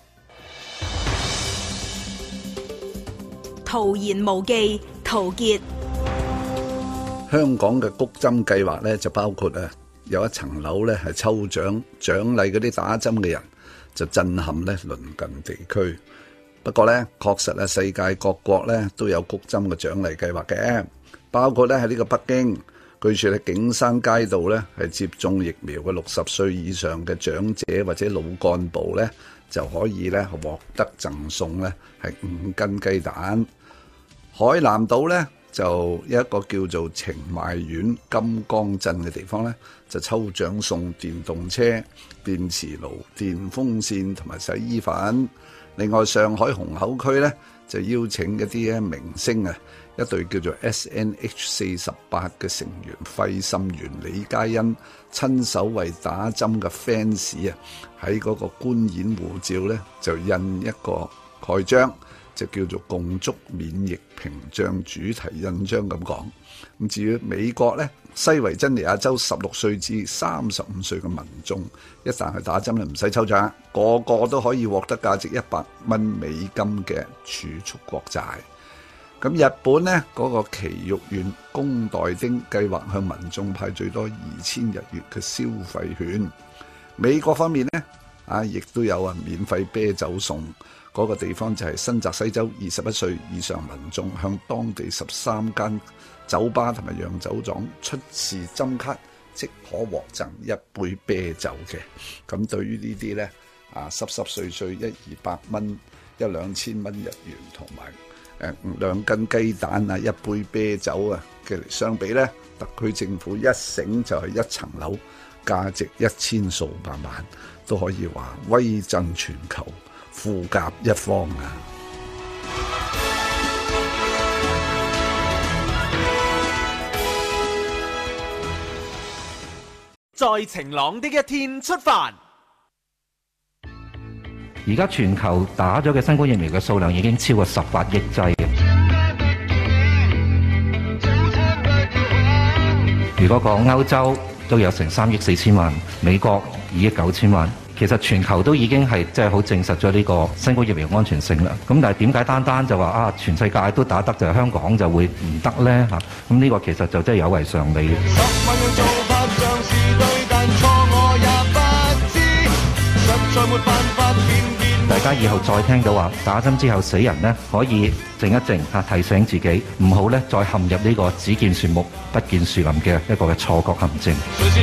徒言無忌，陶傑。 香港嘅谷針計劃咧，就包括啊有一層樓咧係抽獎獎勵嗰啲打針嘅人，就震撼咧鄰近地區。不過咧，確實啊，世界各國咧都有谷針嘅獎勵計劃嘅，包括咧喺呢個北京，據說咧景山街道咧係接種疫苗嘅六十歲以上嘅長者或者老幹部咧，就可以咧獲得贈送咧係五斤雞蛋。海南島咧就有一個叫做澄邁縣金剛鎮嘅地方咧，就抽獎送電動車、電磁爐、電風扇同埋洗衣粉。另外上海虹口區咧就邀請一啲咧明星啊，一隊叫做 S N H 四十八嘅成員費心妍、李嘉欣親手為打針嘅 fans 啊，喺嗰個觀演護照咧就印一個蓋章，就叫做共築免疫屏障主題印章咁講。咁至於美國咧，西維珍尼亞州十六歲至三十五歲嘅民眾，一旦去打針咧唔使抽獎，個個都可以獲得價值一百蚊美金嘅儲蓄國債。咁日本呢嗰、那個埼玉縣宮代町計劃向民眾派最多二千日元嘅消費券。美國方面呢，啊，亦都有啊免費啤酒送。嗰、那個地方就係新澤西州，二十一歲以上民眾向當地十三間酒吧同埋洋酒莊出示針卡，即可獲贈一杯啤酒嘅。咁對於呢啲呢，啊濕濕碎碎一二百蚊、一兩千蚊日元同埋誒兩斤雞蛋啊、一杯啤酒啊嘅嚟相比呢，特區政府一醒就係一層樓，價值一千數百萬，都可以話威震全球，富甲一方啊！ 在晴朗的一天出發。 而家全球打咗嘅新冠疫苗嘅數量已經超過十八億劑。如果講歐洲都有成三億四千萬，美國二億九千萬。其實全球都已經係即係好證實咗呢個新冠疫苗安全性啦。咁但係點解單單就話啊全世界都打得，就係香港就會唔得呢？嚇？咁呢個其實就真係有違常理嘅。 十大家以後再聽到話打針之後死人呢，可以靜一靜嚇，提醒自己唔好咧再陷入呢個只見樹木不見樹林嘅一個嘅錯覺陷阱。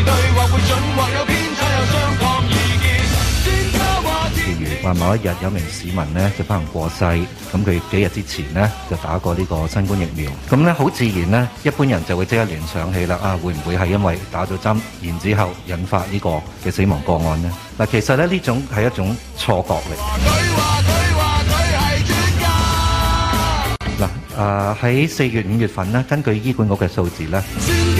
譬如話某一日有名市民呢就不幸過世，咁佢幾日之前呢就打過呢個新冠疫苗，咁咧好自然呢，一般人就會即刻聯想起啦，啊會唔會係因為打咗針，然之後引發呢個嘅死亡個案呢？嗱，其實咧呢種係一種錯覺嚟。嗱，啊喺四月五月份呢，根據醫管局嘅數字呢，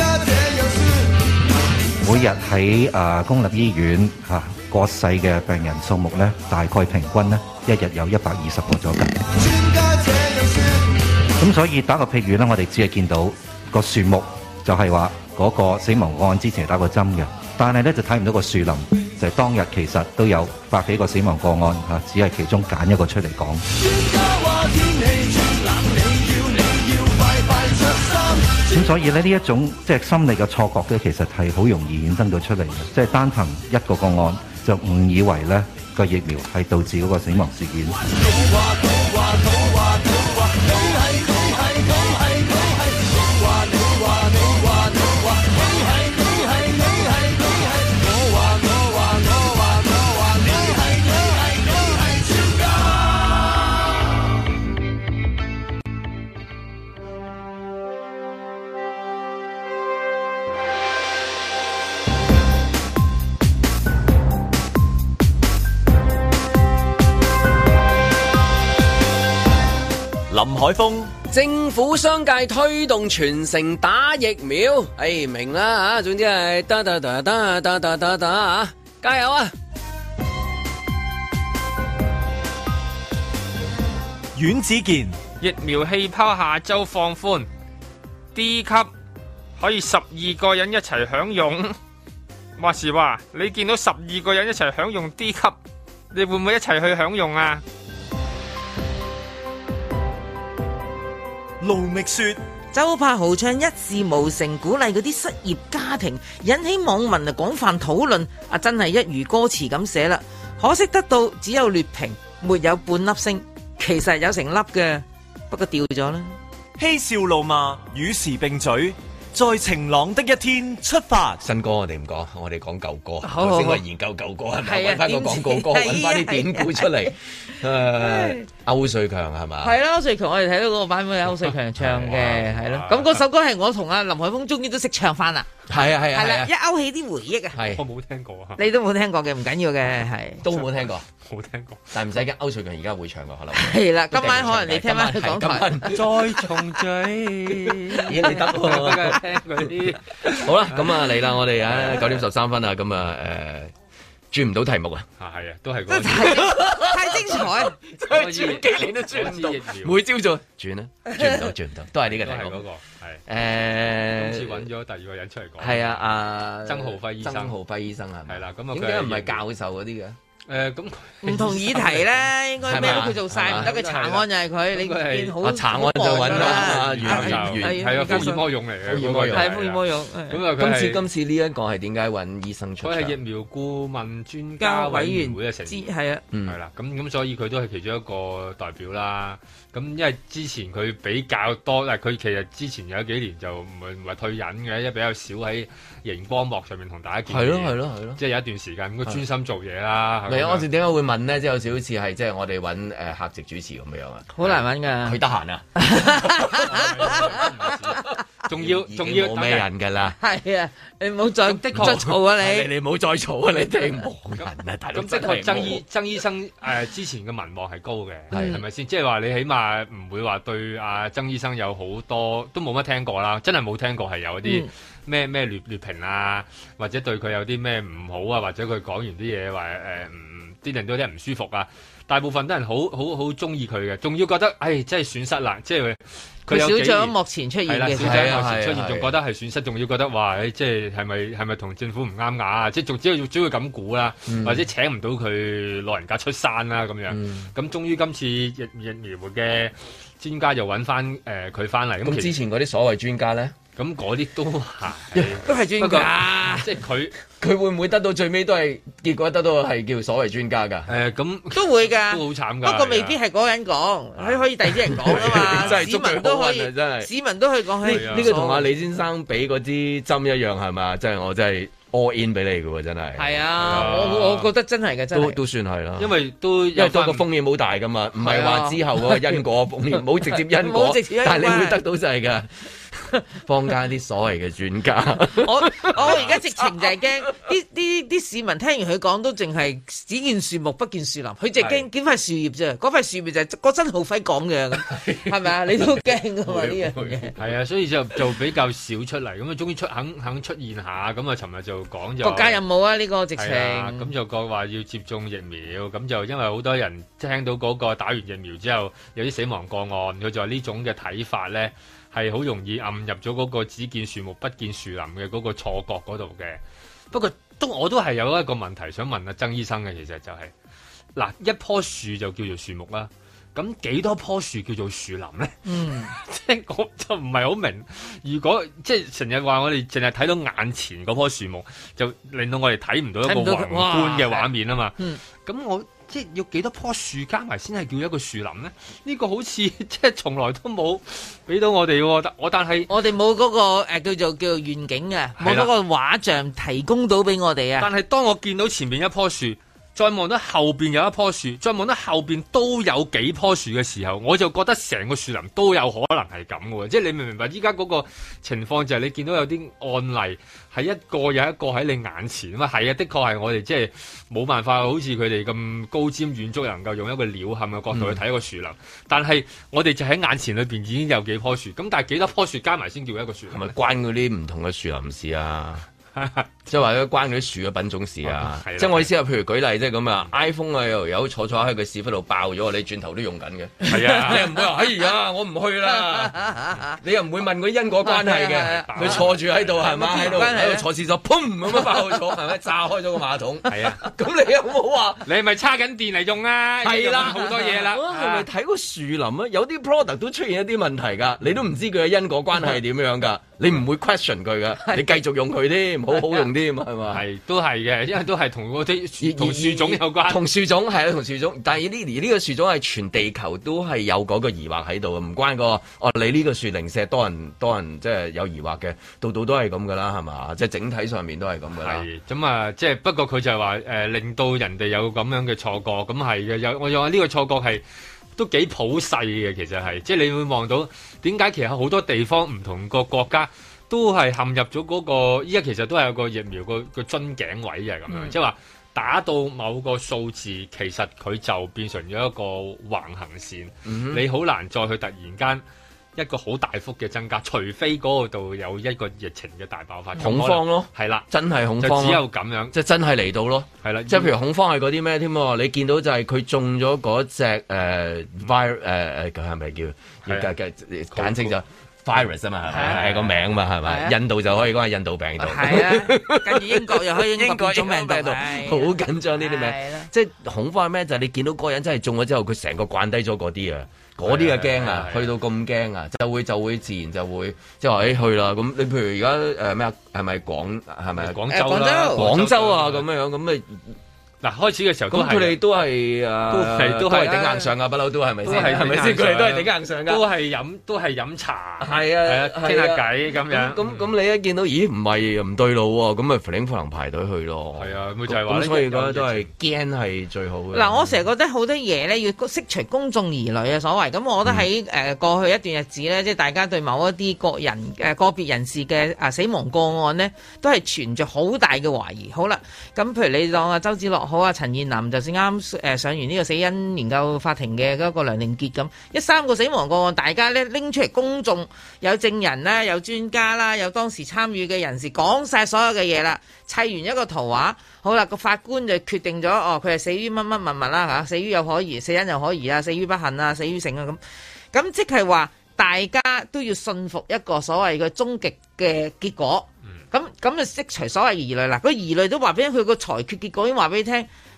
每日喺啊公立醫院嚇。啊過世嘅病人數目咧，大概平均咧，一日有一百二十個左右。咁所以打個譬如咧，我哋只係見到個樹木，就係話嗰個死亡個案之前打過針嘅，但係咧就睇唔到個樹林，就係、是、當日其實都有百幾個死亡個案嚇，只係其中揀一個出嚟講。咁所以咧呢一種即係心理嘅錯覺咧，其實係好容易衍生到出嚟嘅，即係單憑一個個案就誤以為咧個疫苗係導致嗰個死亡事件。 林海峰， 政府商界推動全城打疫苗，哎明啦吓，總之係得得得得得得得得啊，加油啊！ 阮子健， 疫苗氣泡下周放寬 ，D 級可以十二個人一齊享用。話時話，你見到十二個人一齊享用 D 級，你會唔會一齊去享用啊？ 盧覓雪， 周柏豪唱一事無成，鼓勵嗰啲失業家庭，引起網民啊廣泛討論。啊，真係一如歌詞咁寫啦，可惜得到只有劣評，沒有半粒星。其實有成粒嘅，不過掉咗啦。 嬉笑怒罵，與時並舉。在晴朗的一天出發。 新歌我哋唔講，我哋講舊歌。 好好好， 先我研究舊歌係咪？ 係啊， 揾翻個廣告歌，揾翻啲典故出嚟。誒，歐瑞強係嘛？ 係啦，歐瑞強我哋睇到嗰個版本係歐瑞強唱嘅，係咯。咁嗰首歌係我同阿林海峰終於都識唱翻啦。係啊係啊係啦，一勾起啲回憶啊。 係，我冇聽過啊。 你都冇聽過嘅，唔緊要嘅，係。 都冇聽過， 冇聽過。 但係唔使驚，歐瑞強而家會唱嘅可能。 係啦，今晚可能你聽翻佢講台。 再重聚， 咦你得喎。聽嗰啲好啦，咁啊嚟啦，我哋啊九點十三分啊，咁啊誒轉唔到題目啊， 啊係啊，都係嗰太精彩， 轉幾年都轉唔到，每朝早轉啊，轉唔到，轉唔到，都係呢個題目。 嗰個係誒，今次揾咗第二個人出嚟講， 係啊，阿曾浩輝醫生， 曾浩輝醫生係係啦，咁啊點解唔係教授嗰啲嘅？ 誒咁唔同議題咧，應該咩都佢做晒，唔得嘅查案就係佢。你見好查案就揾啦， 原原係啊，福爾摩用嚟嘅，福爾摩用係福爾摩用。 咁啊， 今次今次呢一個係點解揾醫生出場？ 佢係疫苗顧問專家委員會嘅成員， 係啊， 係啦，咁咁所以佢都係其中一個代表啦。咁因為之前佢比較多，但係佢其實之前有幾年就唔係唔係退隱嘅，因為比較少喺熒光幕上面同大家見面。 係咯係咯係咯， 即係有一段時間咁佢專心做嘢啦。 唔係，我哋點解會問呢？即係有少少似係即係我哋揾誒客席主持咁樣啊？ 好難揾㗎。 佢得閒啊？ 仲要仲要冇咩人㗎啦。 係啊，你唔好再的確再嘈啊！你你唔好再嘈啊！你哋冇人啊！大佬咁的確，曾醫曾醫生誒之前嘅民望係高嘅，係係咪先？即係話你起碼唔會話對阿曾醫生有好多都冇乜聽過啦，真係冇聽過係有啲咩咩劣劣評啊，或者對佢有啲咩唔好啊，或者佢講完啲嘢話誒唔啲人都有啲唔舒服啊。大部分都人好好好中意佢嘅，仲要覺得誒真係損失啦，即係佢少咗幕前出現嘅， 少咗幕前出現，仲覺得係損失，仲要覺得話誒即係係咪係咪同政府唔啱牙啊？即係仲只要只會咁估啦，嗯、或者請唔到佢老人家出山啦咁樣。咁、嗯、終於今次疫疫苗嘅專家又揾翻誒佢翻嚟。咁、呃、 之前嗰啲所謂專家咧？ 咁嗰啲都係都係專家， 即係佢佢會唔會得到最尾都係結果得到係叫所謂專家㗎？ 誒咁都會㗎， 都好慘㗎。 不過未必係嗰個人講，佢可以第二啲人講啊嘛。 真係市民都可以， 真係市民都可以講。 呢呢個同阿李先生俾嗰支針一樣係嘛？真係我真係 all in 俾你㗎喎，真係。 係啊，我我覺得真係嘅，真係都都算係啦。 因為都因為多個風險好大㗎嘛，唔係話之後嗰個因果風險冇直接因果，但係你會得到就係㗎。坊間啲所謂嘅專家， 我我而家直情就係驚啲啲啲市民聽完佢講都淨係只見樹木不見樹林，佢淨係驚見塊樹葉啫，嗰塊樹葉就係郭真浩輝講嘅，係咪啊？你都驚噶嘛呢樣嘢？ 係啊，所以就就比較少出嚟，咁啊終於出肯肯出現下，咁啊尋日就講就國家任務啊呢個直情， 咁就講話要接種疫苗，咁就因為好多人聽到嗰個打完疫苗之後有啲死亡個案，佢就話呢種嘅睇法咧。係好容易暗入咗嗰個只見樹木不見樹林嘅嗰個錯覺嗰度嘅。不過都我都係有一個問題想問阿曾醫生嘅，其實就係、是、嗱一棵樹就叫做樹木啦，咁幾多棵樹叫做樹林咧？嗯，即係我就唔係好明。如果即係成日話我哋淨係睇到眼前嗰棵樹木，就令到我哋睇唔到一個宏觀嘅畫面啊嘛。嗯，咁我。即係要幾多棵樹加埋先係叫一個樹林咧？呢、呢個好似即係從來都冇俾到我哋喎。我但係我哋冇嗰個誒、呃、叫做叫做願景嘅，冇嗰個畫像提供到俾我哋啊。 但係當我見到前面一棵樹，再望到後邊有一棵樹，再望到後邊都有幾棵樹嘅時候，我就覺得成個樹林都有可能係咁嘅喎。即係你明唔明白？依家嗰個情況就係你見到有啲案例係一個有一個喺你眼前啊嘛。係啊，的確係我哋即係冇辦法，好似佢哋咁高瞻遠矚，能夠用一個鳥瞰嘅角度去睇一個樹林。嗯、但係我哋就喺眼前裏邊已經有幾棵樹，咁但係幾多棵樹加埋先叫一個樹林？係咪關嗰啲唔同嘅樹林事啊？即係話咧關嗰啲樹嘅品種事啊！ 嗯、 即係我意思係，譬如舉例，即係咁啊 ，iPhone 啊又有坐坐喺佢屎忽度爆咗，你轉頭都用緊嘅。係啊，你又唔會話哎呀，我唔去啦。你又唔會問嗰啲因果關係嘅，佢坐住喺度係嘛，喺度喺度坐廁所，砰咁樣爆咗，係咪炸開咗個馬桶？係啊，咁你有冇話你係咪叉緊電嚟用啊？係啦，好多嘢啦。 係咪睇個樹林啊？有啲 product 都出現一啲問題㗎，你都唔知佢嘅因果關係係點樣㗎。你唔會 question 佢㗎，你繼續用佢添，好好用啲嘛，係嘛？ 係都係嘅，因為都係同嗰啲同樹種有關。 同樹種係啊，同樹種。但係呢呢個樹種係全地球都係有嗰個疑惑喺度，唔關個哦。你呢個樹零舍多人多人即係有疑惑嘅，度度都係咁噶啦，係嘛？即係整體上面都係咁噶啦。 係咁啊，即係不過佢就係話誒，令到人哋有咁樣嘅錯覺，咁係嘅。有我又話呢個錯覺係都幾普世嘅，其實係即係你會望到點解其實好多地方唔同個國家都係陷入咗嗰個，依家其實都係有個疫苗個個樽頸位嘅咁樣，即係話打到某個數字，其實佢就變成咗一個橫行線，嗯、你好難再去突然間一個好大幅嘅增加，除非嗰度有一個疫情嘅大爆發， 恐慌咯， 係啦， 真係恐慌， 就只有咁樣， 即係真係嚟到咯，係啦，即係譬如恐慌係嗰啲咩添？你見到就係佢中咗嗰隻誒 virus 誒誒，佢係咪叫要簡簡簡稱就？virus 啊嘛，係係個名嘛，係咪？印度就可以講係印度病毒。係啊，跟住英國又可以英國種病毒，好緊張呢啲名。即係恐慌係咩？就係你見到嗰個人真係中咗之後，佢成個慣低咗嗰啲啊，嗰啲啊驚啊，去到咁驚啊，就會就會自然就會即係話誒去啦。咁你譬如而家誒咩啊？係咪廣係咪廣州啦？ 廣州啊咁樣樣咁咪。 嗱，開始嘅時候咁佢哋都係啊，都係都係頂硬上啊，不嬲都係咪先？係咪先？佢哋都係頂硬上噶， 都係飲都係飲茶， 係啊， 傾下偈咁樣。 咁咁你一見到，咦唔係唔對路喎，咁咪弗靈弗能排隊去咯。 係啊，咪就係話咁，所以覺得都係驚係最好嘅。 嗱，我成日覺得好多嘢咧要釋除公眾疑慮啊，所謂咁，我覺得喺誒過去一段日子咧，即係大家對某一啲個人誒個別人士嘅啊死亡個案呢，都係存著好大嘅懷疑。好啦，咁譬如你當阿周梓樂好啊，陳彥霖。就算啱誒上完呢個死因研究法庭嘅嗰個梁凌傑咁，一三個死亡個案，大家咧拎出嚟公眾，有證人啦，有專家啦，有當時參與嘅人士講晒所有嘅嘢啦，砌完一個圖畫，好啦，個法官就決定咗，哦，佢係死於乜乜物物啦嚇，死於有可疑，死因有可疑啊，死於不幸啊，死於性啊咁，咁即係話大家都要信服一個所謂嘅終極嘅結果。咁咁就釋除所謂疑慮啦，個疑慮都話俾佢個裁決結果已經話俾你聽，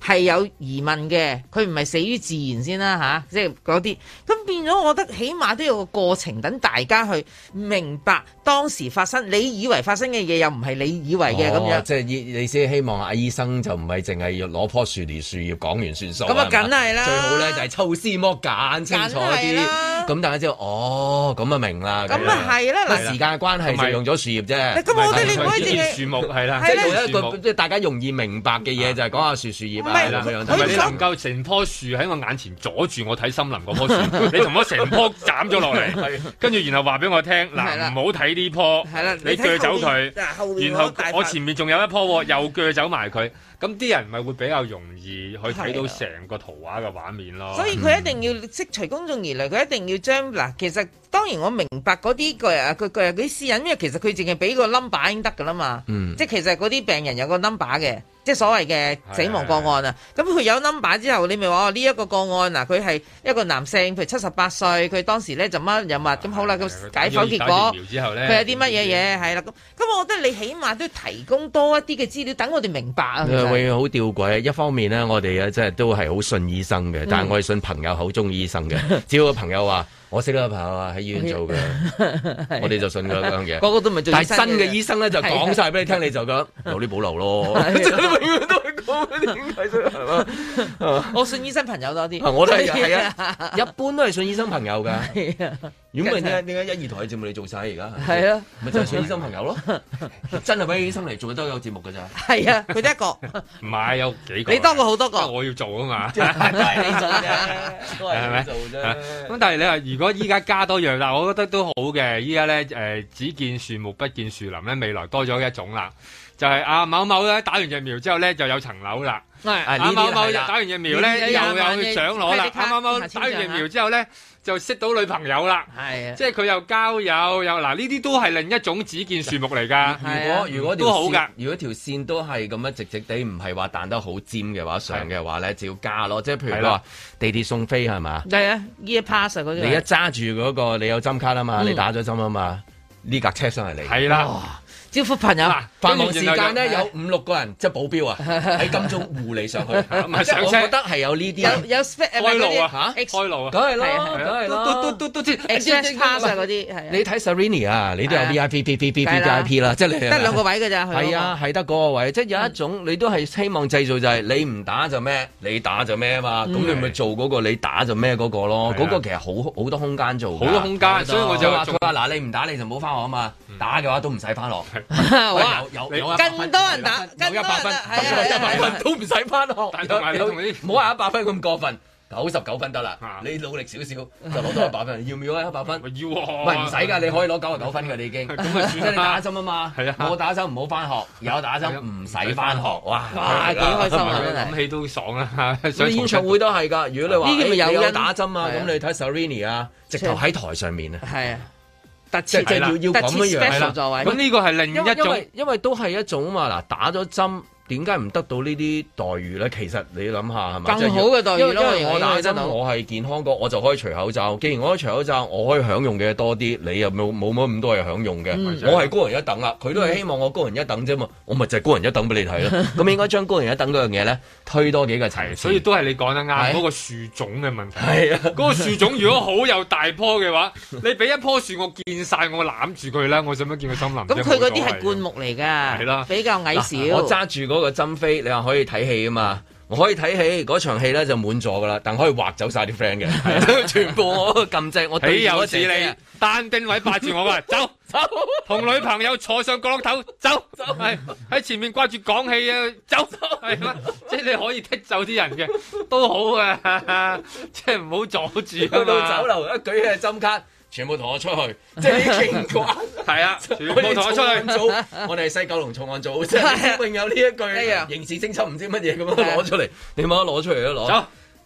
係有疑問嘅，佢唔係死於自然先啦吓，即係嗰啲。咁變咗，我覺得起碼都有個過程，等大家去明白當時發生，你以為發生嘅嘢又唔係你以為嘅咁、哦、樣。 即係你先希望阿醫生就唔係淨係要攞棵樹嚟樹葉講完算數。咁啊，梗係啦。 最好咧就係抽絲剝繭，清楚啲。咁大家知道，哦，咁啊明啦。咁啊係啦，嗱，時間嘅關係就用咗樹葉啫。 咁我覺得你唔可以淨係樹木係啦， 即係用一個即係大家容易明白嘅嘢，就係講下樹樹葉啊咁樣。 係咪你能夠成棵樹喺我眼前阻住我睇森林嗰棵樹？你同我成棵斬咗落嚟，跟住然後話俾我聽，嗱，唔好睇呢棵，你鋸走佢，然後我前面仲有一棵，又鋸走埋佢。咁啲人咪會比較容易去睇到成個圖畫嘅畫面咯。 所以佢一定要釋除公眾疑慮，佢一定要將嗱，其實當然我明白嗰啲個啊，佢佢嗰啲私隱，因為其實佢淨係俾個 number 已經得㗎啦嘛。嗯、即係其實嗰啲病人有個 number 嘅，即係所謂嘅死亡個案啊。咁佢有 number 之後，你咪話呢一個個案嗱，佢係一個男性，譬如七十八歲，佢當時咧就乜有乜，咁好啦，個解剖結果佢有啲乜嘢嘢係啦。咁咁，我覺得你起碼都提供多一啲嘅資料，等我哋明白啊。 會好吊詭，一方面呢，我哋啊，即係都係好信醫生嘅，但係我係信朋友口中醫生嘅。只要個朋友話，我識得個朋友啊，喺醫院做嘅，我哋就信佢嗰樣嘢。 個個都唔係做醫生嘅。 但係真嘅醫生咧，就講晒俾你聽，你就覺得有啲保留咯。永遠都係講點解啫，係嘛？ 我信醫生朋友多啲。 我都係係啊，一般都係信醫生朋友㗎。如果唔係點解點解一二台嘅節目你做晒而家？係啊，咪就係信醫生朋友咯。真係揾醫生嚟做都有節目㗎咋。係啊，佢得一個。 唔係有幾個？ 你多過好多個。 我要做啊嘛。 都係你做啫，都係你做啫。 咁但係你話如果依家加多樣，嗱，我覺得都好嘅。依家咧誒，只見樹木不見樹林咧，未來多咗一種啦，就係阿某某咧打完疫苗之後咧就有層樓啦。阿某某打完疫苗咧又有獎攞啦。阿某某打完疫苗之後咧就識到女朋友啦。係啊，即係佢又交友又嗱，呢啲都係另一種只見樹木嚟㗎。 如果如果都好㗎， 如果條線都係咁樣直直地，唔係話彈得好尖嘅話，上嘅話咧就要加咯。即係譬如話地鐵送飛係嘛？ 係啊，E Pass 嗰啲。 你一揸住嗰個，你有針卡啊嘛，你打咗針啊嘛，呢架車上嚟嚟。 係啦。 招呼朋友， 繁忙時間咧有五六個人，即係保鏢啊，喺金鐘護你上去。即係我覺得係有呢啲有有開路啊嚇，開路啊， 梗係啦，梗係啦， 都都都都知 Express Pass 嗰啲係。 你睇 Serrini 啊，你都有 V I P、V V V V I P 啦，即係你得兩個位㗎咋？ 係啊，係得嗰個位，即係有一種你都係希望製造就係你唔打就咩，你打就咩啊嘛，咁你咪做嗰個你打就咩嗰個咯，嗰個其實好好多空間做， 好多空間，所以我就話佢話嗱，你唔打你就唔好翻學啊嘛，打嘅話都唔使翻學。有有更多人打， 有一百分，一百分都唔使翻學。但係同啲唔好話一百分咁過分，九十九分得啦。你努力少少就攞到一百分，要唔要啊？一百分？ 要， 唔係唔使㗎，你可以攞九十九分㗎，你已經。咁啊，算啦，你打針啊嘛。係啊，我打針唔好翻學，有打針唔使翻學。哇！ 哇，幾開心啊！真係諗起都爽啊！ 演唱會都係㗎。如果你話你有打針啊，咁你睇 Serrini 啊，直頭喺台上面啊。係啊。即係要要咁樣樣係啦， 咁呢個係另一種， 因為因為都係一種嘛。嗱，打咗針。點解唔得到呢啲待遇咧？其實你諗下係咪更好嘅待遇咯？ 因為我打針，我係健康過，我就可以除口罩。既然我可以除口罩，我可以享用嘅多啲，你又冇冇乜咁多嘢享用嘅。嗯、我係高人一等啦，佢都係希望我高人一等啫嘛。我咪就係高人一等俾你睇咯。咁應該將高人一等嗰樣嘢咧推多幾個層。 所以都係你講得啱，嗰個樹種嘅問題。係啊，嗰個樹種如果好有大棵嘅話，你俾一棵樹我見晒，我攬住佢啦。我想唔想見佢森林？ 咁佢嗰啲係灌木嚟㗎，係啦，比較矮小。 我揸住嗰個針飛，你話可以睇戲啊嘛？我可以睇戲，嗰場戲咧就滿座噶啦，但可以劃走晒啲 friend 嘅，全部我撳掣，我豈有此理！單丁位霸住我噶，走走，同女朋友坐上角落頭，走走，係喺前面掛住講戲啊，走走，係嘛？即係你可以剔走啲人嘅，都好嘅，即係唔好阻住。去到酒樓一舉起針卡。全部同我出去，即係啲警官， 係啊，全部同我出去組。我哋係西九龍重案組，即係永有呢一句刑事偵緝唔知乜嘢咁樣攞出嚟，你冇得攞出嚟都攞。走，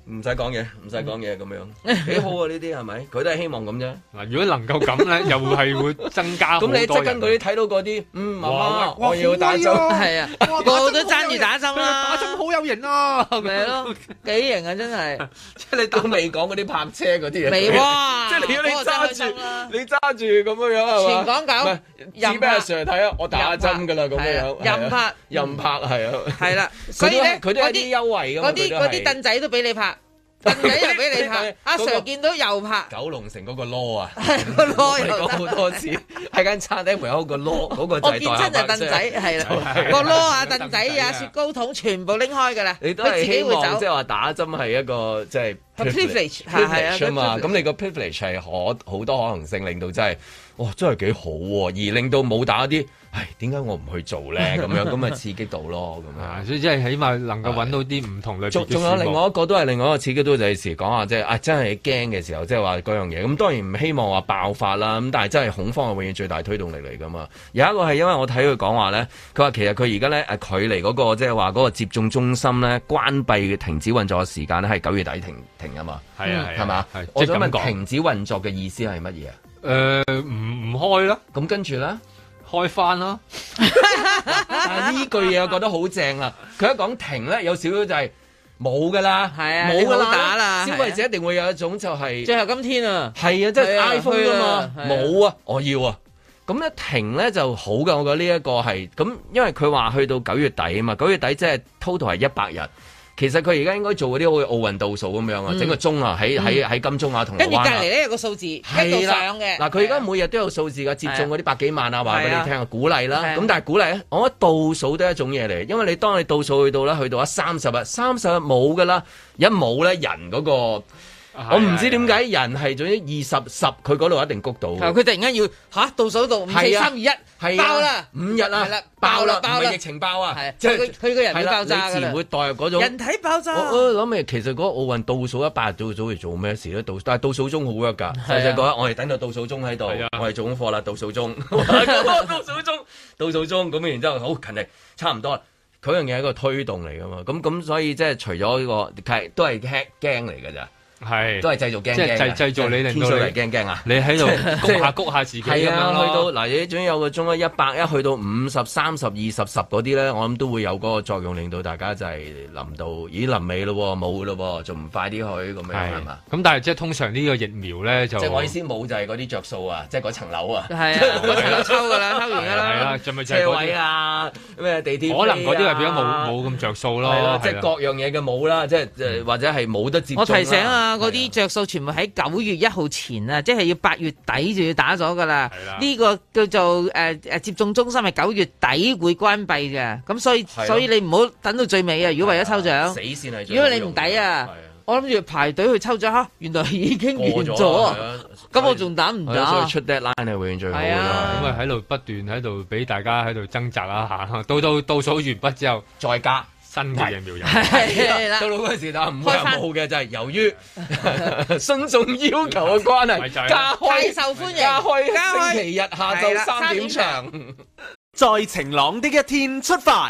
唔使講嘢，唔使講嘢咁樣，幾好啊！呢啲係咪？佢都係希望咁啫。 嗱，如果能夠咁咧，又係會增加好多人。 咁你即跟佢睇到嗰啲，嗯，媽媽，我要打針， 係啊，個個都爭住打針啦， 打針好有型啊，係咪咯？幾型啊，真係！ 即係你都未講嗰啲泊車嗰啲嘢， 未喎！ 即係如果你揸住，你揸住咁樣樣係嘛？ 全港九， 任俾阿 Sir 睇啊！我打針㗎啦，咁樣樣， 任拍， 任拍係啊，係啦，所以咧， 佢都有啲優惠㗎嘛， 嗰啲嗰啲凳仔都俾你拍。凳仔又俾你拍，阿 Sir 見到又拍。 九龍城嗰個攞啊， 個攞又講好多次，喺間餐廳門口個攞嗰個就係我見真係凳仔，係啦，個攞啊凳仔啊雪糕筒全部拎開㗎啦。 你都係希望即係話打針係一個即係 privilege 係啊嘛，咁你個 privilege 係可好多可能性，令到真係哇真係幾好喎，而令到冇打啲。唉，點解我唔去做咧？咁樣咁咪刺激到咯，咁樣。 所以即係起碼能夠揾到啲唔同類別嘅事。 仲有另外一個都係另外一個刺激到就係時講下，即係啊，真係驚嘅時候，即係話嗰樣嘢。咁當然唔希望話爆發啦。咁但係真係恐慌係永遠最大推動力嚟㗎嘛。有一個係因為我睇佢講話咧，佢話其實佢而家咧誒距離嗰個即係話嗰個接種中心咧關閉嘅停止運作嘅時間咧係九月底停停啊嘛。 係啊係係嘛？我想問停止運作嘅意思係乜嘢啊？ 誒唔唔開啦。 咁跟住咧？ 開翻啦！ 但係呢句嘢我覺得好正啊！佢一講停咧，有少少就係冇噶啦， 係啊， 冇噶打啦！ 消費者一定會有一種就係最後今天啊， 係啊，即係 iPhone 啊嘛，冇啊，我要啊！咁咧停咧就好噶，我覺得呢一個係咁，因為佢話去到九月底啊嘛，九月底即係 total 係一百日。其實佢而家應該做嗰啲好似奧運倒數咁樣啊，嗯、整個鐘啊，喺喺喺金鐘啊，銅鑼灣啊，跟住隔離咧有個數字喺度上嘅。嗱，佢而家每日都有數字㗎，接種嗰啲百幾萬啊，話俾你聽啊，鼓勵啦。咁但係鼓勵咧，我覺得倒數都係一種嘢嚟，因為你當你倒數去到咧，去到啊三十日，三十日冇㗎啦，一冇咧人嗰、嗰個。我唔知點解人係總之二十十，佢嗰度一定谷到。佢突然間要嚇倒數到五四三二一，爆啦五日啊，爆啦，爆啦，疫情爆啊， 即係佢佢個人會爆炸㗎啦。 你自然會代入嗰種人體爆炸。 我我諗起其實嗰個奧運倒數一百日早早嚟做咩事咧？倒但係倒數鐘好 work 㗎。細細個我哋等到倒數鐘喺度，我哋做功課啦，倒數鐘，倒數鐘，倒數鐘咁，然之後好勤力，差唔多啦。佢樣嘢係一個推動嚟㗎嘛。咁咁所以即係除咗呢個係都係驚驚嚟㗎咋。 係， 都係製造驚驚， 即係製製造你令到你驚驚啊！ 你喺度谷下谷下自己咁樣咯。 係啊，去到嗱，你總有個鐘一百一去到五十、三十、二十、十嗰啲咧，我諗都會有嗰個作用，令到大家就係臨到，咦臨尾咯，冇咯，仲唔快啲去咁樣係嘛？ 咁但係即係通常呢個疫苗咧就即係我意思冇就係嗰啲着數啊，即係嗰層樓啊， 係啊，嗰層樓抽㗎啦，抽完㗎啦， 係啊，就咪就係車位啊，咩地鐵可能嗰啲係變咗冇冇咁着數咯， 即係各樣嘢嘅冇啦，即係或者係冇得接種。 我提醒啊，嗰啲着數。全部喺九月一號前啊，即係要八月底就要打咗噶啦。呢個叫做誒誒、呃、接種中心係九月底會關閉嘅，咁所以所以你唔好等到最尾啊！如果為咗抽獎， 死線係如果你唔抵啊，我諗住排隊去抽獎嚇，原來已經完咗，咁我仲打唔打？ 所以出 deadline 係永遠最好嘅。 咁啊喺度不斷喺度俾大家喺度掙扎啦嚇，到到倒數完畢之後再加。 新嘅疫苗有， 係啦， 到到嗰陣時但唔會冇嘅，就係由於信眾要求嘅關係，加開太受歡迎， 加開星期日下晝三點場， 在晴朗的一天出發。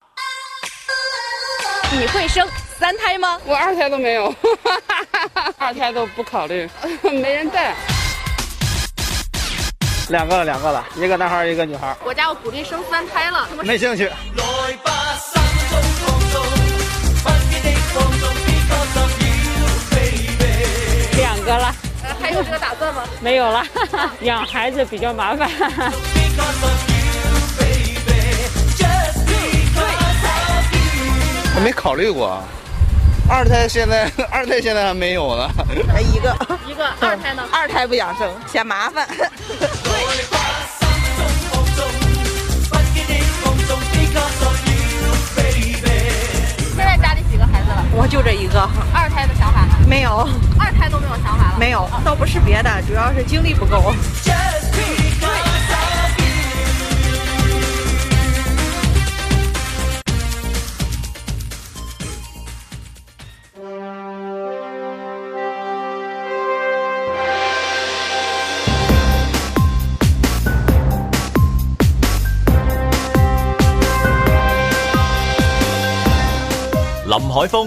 你會生三胎嗎？ 我二胎都沒有，二胎都不考慮，沒人帶。 兩個了，兩個了，一個男孩，一個女孩。 國家要鼓勵生三胎了， 沒興趣。 兩個了。 呃，還有這個打算嗎？ 沒有了，養孩子比較麻煩。 我沒考慮過，二胎現在二胎現在還沒有呢。 一個一個，二胎呢？ 二胎不想生，嫌麻煩。 現在家裡幾個孩子了？ 我就這一個。 二胎的想法呢？ 沒有。 二胎都沒有想法了？ 沒有，倒不是別的，主要是精力不夠。 林海峰、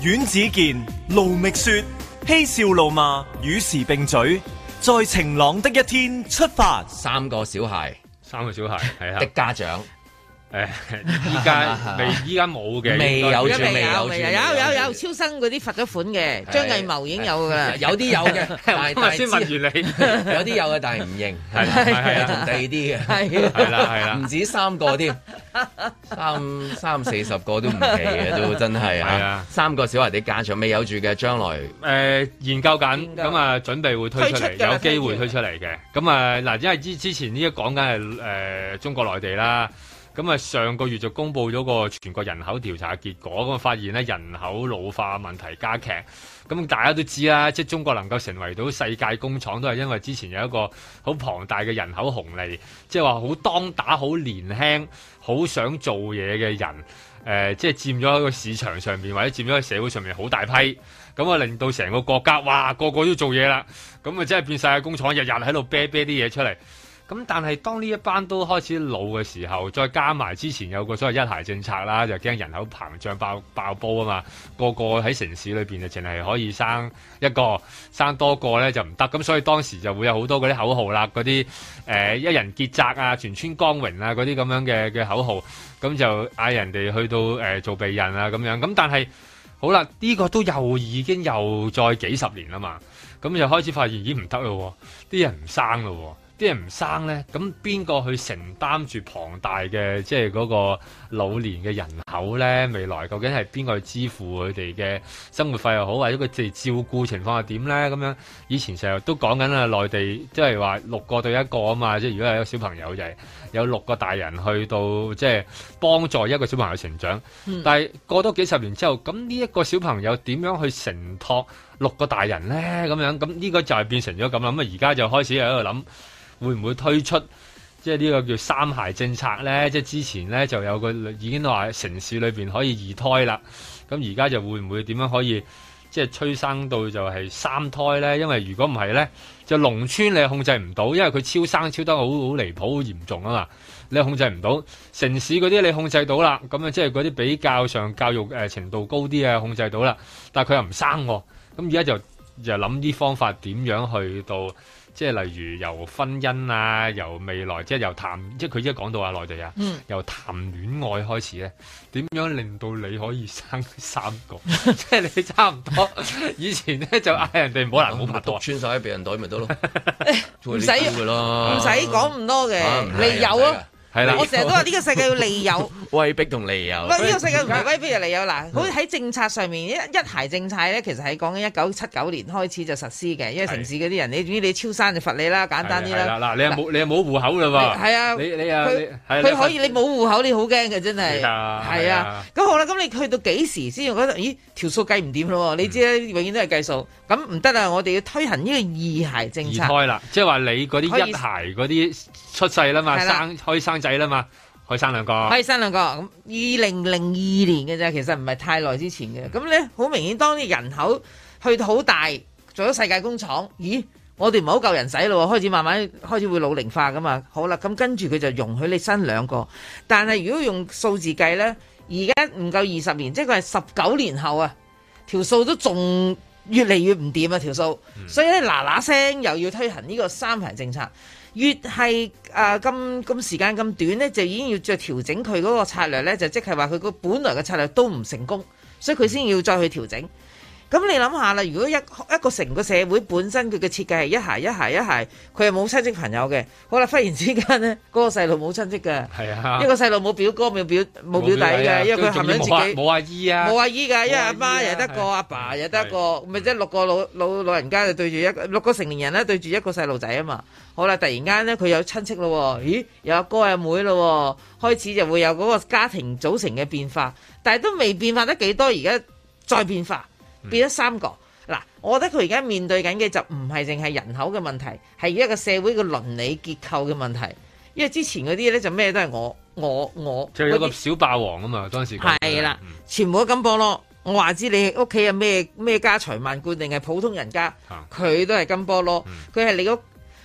阮子健、盧覓雪，嬉笑怒罵，與時並舉，在晴朗的一天出發。 三個小孩， 三個小孩係啊的家長。 誒，依家未，依家冇嘅， 未有住，未有有有有超生嗰啲罰咗款嘅，張藝謀已經有噶啦， 有啲有嘅，但係先問完你， 有啲有嘅，但係唔認，係係啊， 同第二啲嘅， 係啦係啦， 唔止三個添，三三四十個都唔奇嘅，都真係啊，三個小孩啲家長未有住嘅，將來誒研究緊，咁啊準備會推出嚟，有機會推出嚟嘅，咁啊嗱，因為之之前呢一講緊係誒中國內地啦。咁啊，上個月就公布咗個全國人口調查結果，咁啊發現咧人口老化問題加劇。咁大家都知啦，即係中國能夠成為到世界工廠，都係因為之前有一個好龐大嘅人口紅利，即係話好當打、好年輕、好想做嘢嘅人，誒、呃，即係佔咗喺個市場上面，或者佔咗喺社會上面好大批，咁啊令到成個國家，哇，個個都做嘢啦，咁啊真係變世界工廠，日日喺度啤啤啲嘢出嚟。咁但係當呢一班都開始老嘅時候，再加埋之前有個所謂一孩政策啦，就驚人口膨脹爆爆煲啊嘛，個個喺城市裏邊就淨係可以生一個，生多個咧就唔得，咁所以當時就會有好多嗰啲口號啦，嗰啲誒一人傑責啊、全村光榮啊嗰啲咁樣嘅嘅口號，咁就嗌人哋去到誒、呃、做避孕啊咁樣，咁但係好啦，呢、這個都又已經又再幾十年啦嘛，咁就開始發現已經唔得咯，啲人唔生咯。啲人唔生咧，咁邊個去承擔住龐大嘅即係嗰個老年嘅人口咧？未來究竟係邊個去支付佢哋嘅生活費又好，或者佢哋照顧情況係點咧？咁樣以前成日都講緊啊，內地即係話六個對一個啊嘛，即係如果係一個小朋友就係有六個大人去到即係幫助一個小朋友成長。嗯、但係過多幾十年之後，咁呢一個小朋友點樣去承托六個大人咧？咁樣咁呢個就係變成咗咁啦。咁啊而家就開始喺度諗。會唔會推出即係呢個叫三孩政策咧？即係之前咧就有個已經話城市裏邊可以二胎啦，咁而家就會唔會點樣可以即係催生到就係三胎咧？因為如果唔係咧，就農村你控制唔到，因為佢超生超得好好離譜、好嚴重啊嘛，你控制唔到。城市嗰啲你控制到啦，咁啊即係嗰啲比較上教育誒程度高啲啊控制到啦，但係佢又唔生喎，咁而家就就諗啲方法點樣去到。即係例如由婚姻啊，由未來即係由談，即係佢依家講到啊內地啊，嗯、由談戀愛開始咧，點樣令到你可以生三個？即係你差唔多以前咧就嗌人哋唔好難冇拍拖， 穿晒喺避孕袋咪得咯， 唔使唔使講咁多嘅，你有啊。係啦，我成日都話呢個世界要利誘， 威逼同利誘。 喂，呢個世界唔係威逼就利誘嗱，好似喺政策上面，一一孩政策咧，其實係講緊一九七九年開始就實施嘅，因為城市嗰啲人，你總之你超生就罰你啦，簡單啲啦。 嗱，你又冇你又冇戶口嘞喎。係啊，你你啊， 佢可以你冇戶口，你好驚嘅真係。係啊，咁好啦，咁你去到幾時先覺得？咦，條數計唔掂咯？你知啦，永遠都係計數。咁唔得啦，我哋要推行呢個二孩政策。 二胎啦，即係話你嗰啲一孩嗰啲出世啦嘛，生可以生仔啦嘛，可以生兩個， 可以生兩個。咁二零零二年嘅啫，其實唔係太耐之前嘅。咁咧好明顯，當啲人口去到好大，做咗世界工廠，咦？我哋唔係好夠人使咯，開始慢慢開始會老齡化噶嘛。好啦，咁跟住佢就容許你生兩個，但係如果用數字計咧，而家唔夠二十年，即係佢係十九年後啊，條數都仲越嚟越唔掂啊條數。嗯、所以咧嗱嗱聲又要推行呢個三孩政策。越係誒咁咁時間咁短咧，就已經要再調整佢嗰個策略咧，就即係話佢個本來嘅策略都唔成功，所以佢先要再去調整。咁你諗下啦，如果一一個成個社會本身佢嘅設計係一孩一孩一孩，佢係冇親戚朋友嘅，好啦，忽然之間咧，嗰、那個細路冇親戚嘅，係啊，一個細路冇表哥冇表冇表弟嘅，啊、因為佢含緊自己冇阿姨啊， 冇阿姨㗎，因為阿媽又得個，阿爸又得個，咪即係六個老老老人家就對住一個六個成年人咧對住一個細路仔啊嘛。好啦，突然間咧佢有親戚咯，咦，有阿哥有妹咯，開始就會有嗰個家庭組成嘅變化，但係都未變化得幾多，而家再變化。變咗三個嗱，我覺得佢而家面對緊嘅就唔係淨係人口嘅問題，係一個社會嘅倫理結構嘅問題。因為之前嗰啲咧就咩都係我我我， 就有個小霸王啊嘛，當時係啦，嗯、全部都金波咯。我話知你屋企有咩咩家財萬貫定係普通人家，佢、啊、都係金波咯。佢係、嗯、你嗰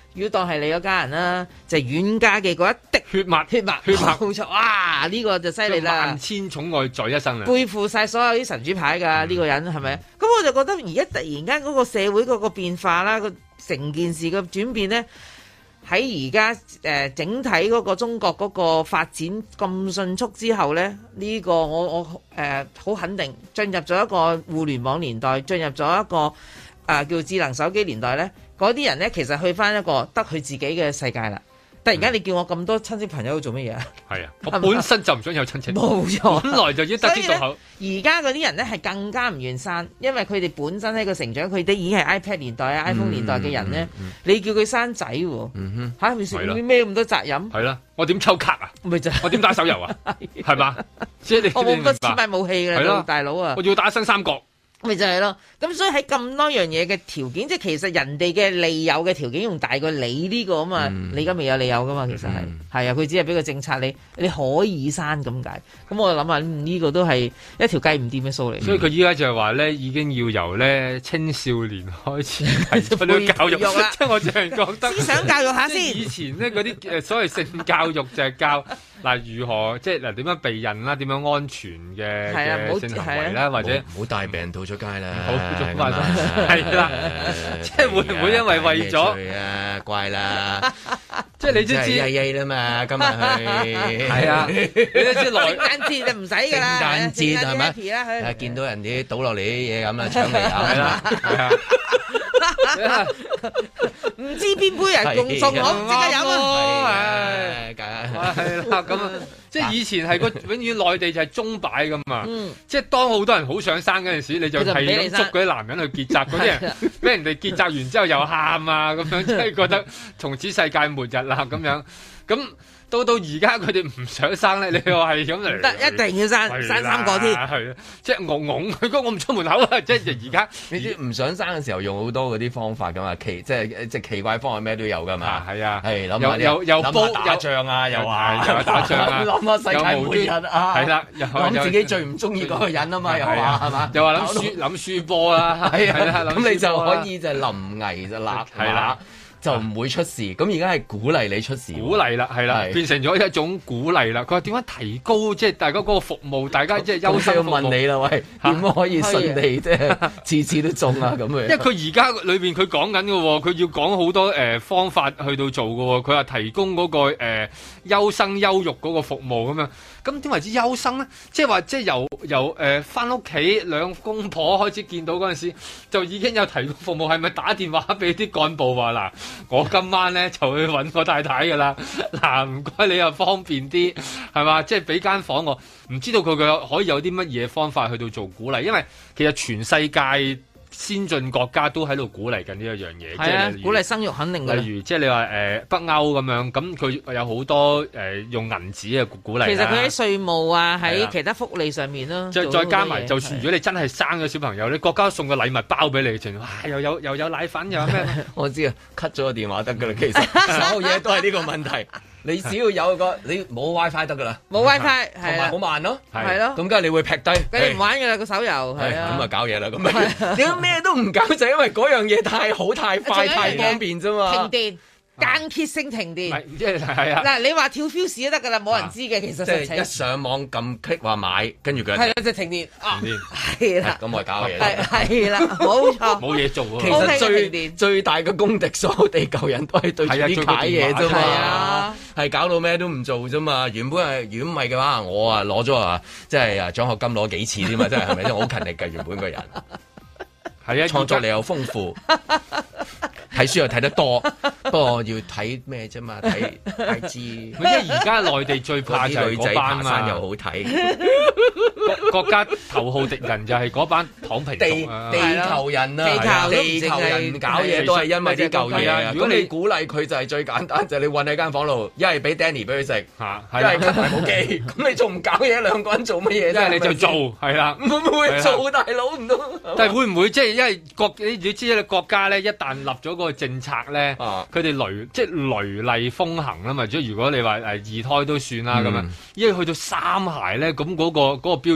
如果當係你嗰家人啦，就係、遠家嘅嗰一滴血脈， 血脈， 血脈， 冇錯，哇！呢、這個就犀利啦， 萬千寵愛在一身啊， 背負晒所有啲神主牌㗎，呢、嗯、個人係咪？咁我就覺得而家突然間嗰個社會嗰個變化啦，個成件事嘅轉變咧，喺而家誒整體嗰個中國嗰個發展咁迅速之後咧，呢、這個我我誒好、呃、肯定進入咗一個互聯網年代，進入咗一個誒、呃、叫智能手機年代咧。嗰啲人咧，其實去翻一個得佢自己嘅世界啦。突然間你叫我咁多親戚朋友做乜嘢啊？係啊，我本身就唔想有親戚，冇錯，本來就已經得之到口。而家嗰啲人咧係更加唔願生，因為佢哋本身喺個成長，佢哋已經係 iPad 年代啊、嗯、iPhone 年代嘅人咧、嗯嗯嗯。你叫佢生仔喎，嚇佢食咩咁多責任？係啦，我點抽卡啊？咪就我點打手遊啊？係嘛？即係你我冇咁多錢買武器㗎啦，大佬啊！我要打新三國。咪就係咯，咁所以喺咁多樣嘢嘅條件，即係其實人哋嘅利誘嘅條件仲大過你呢個啊嘛，嗯、你而家未有利誘噶嘛，其實係係啊，佢只係俾個政策你，你可以刪咁解。咁我就諗下呢個都係一條計唔掂嘅數嚟。所以佢依家就係話咧，已經要由咧青少年開始提出啲教育，即係我淨係覺得思想教育下先。以前咧嗰啲誒所謂性教育就係教嗱如何即係嗱點樣避孕啦，點樣安全嘅嘅性行為啦，或者唔好帶病到出街啦，好做翻係啦，即係會唔會因為為咗啊怪啦，即係你都知曳曳啦嘛，今日去係啊，你都知聖誕節就唔使㗎啦，聖誕節係咪？係見到人哋倒落嚟啲嘢咁啦，搶嚟飲啦，係啊，唔知邊杯人共送我唔知嘅飲咯，係係啦，咁啊，即係以前係個永遠內地就係鐘擺㗎嘛，即係當好多人好想生嗰陣時，你就係咁捉嗰啲男人去結紮，嗰啲人俾人哋結紮完之後又喊啊咁樣，即係覺得從此世界末日啦咁樣，咁。到到而家佢哋唔想生咧，你話係咁嚟？得一定要生，生三個添。係啊，即係戇戇佢講我唔出門口啊！即係而家你知唔想生嘅時候用好多嗰啲方法噶嘛？奇即係即係奇怪方法咩都有噶嘛？係啊，係諗下又又煲打仗啊，又話又打仗啊，諗下世界末日啊，係啦，諗自己最唔中意嗰個人啊嘛，又話係嘛？又話諗輸諗輸波啦，係啊，咁你就可以就臨危就立係啦。就唔會出事，咁而家係鼓勵你出事，鼓勵啦，係啦，變成咗一種鼓勵啦。佢話點樣提高即係大家嗰個服務，大家即係優先服務。我問你啦，喂，點樣可以順利即係次次都中啊咁樣？因為佢而家裏邊佢講緊嘅喎，佢要講好多誒、呃、方法去到做嘅喎。佢話提供嗰、那個誒、呃、優生優育嗰個服務咁樣。咁點為之優生咧？即係話即係由由誒返屋企兩公婆開始見到嗰陣時，就已經有提供服務，係咪打電話俾啲幹部話嗱？我今晚咧就去揾我太太噶啦，嗱唔該你又方便啲，係嘛？即係俾間房我，唔知道佢嘅可以有啲乜嘢方法去到做鼓勵，因為其實全世界先進國家都喺度鼓勵緊呢一樣嘢，即係鼓勵生育肯定嘅。例如即係你話誒、呃、北歐咁樣，咁佢有好多誒、呃、用銀紙嘅鼓勵。其實佢喺稅務啊，喺其他福利上面咯。再再加埋，就算如果你真係生咗小朋友，你國家送個禮物包俾你，哇！又有又有奶粉，又有咩？我知啊，cut 咗個電話得噶啦，其實所有嘢都係呢個問題。你只要有個你冇 WiFi 得噶啦，冇 WiFi 同埋好慢咯，係咯，咁梗係你會劈低，你唔玩噶啦個手遊，係啊，咁啊搞嘢啦，咁啊點解咩都唔搞就因為嗰樣嘢太好太快太方便啫嘛，停電。間歇性停電，即係係啊！嗱，你話跳 fuse 都得噶啦，冇人知嘅其實。即係一上網撳 click 話買，跟住佢係啦，即係停電啊！係啦，咁我搞嘢。係係啦，冇錯。冇嘢做啊！其實最最大嘅公敵，所有地球人都係對住啲解嘢啫嘛，係搞到咩都唔做啫嘛。原本係如果唔係嘅話，我啊攞咗啊，即係啊獎學金攞幾次添嘛，真係係咪先？我好勤力嘅原本個人，係啊，創作力又豐富。睇書又睇得多，不過要睇咩啫嘛？睇睇字。因為而家內地最怕就係嗰班嘛，又好睇。國家頭號敵人就係嗰班躺平族啊！地球人啊，地球人搞嘢都係因為啲舊嘢啊！如果你鼓勵佢就係最簡單，就係你韞喺間房度，一係俾 Danny 俾佢食，一係吸埋部機。咁你仲唔搞嘢？兩個人做乜嘢？一係你就做，係啦。會唔會做大佬唔到？但係會唔會即係因為國你你知啦，國家咧一旦立咗個政策咧，佢哋雷即係雷厲風行啦嘛。即係如果你話誒二胎都算啦咁樣，因為去到三孩咧，咁嗰個嗰個標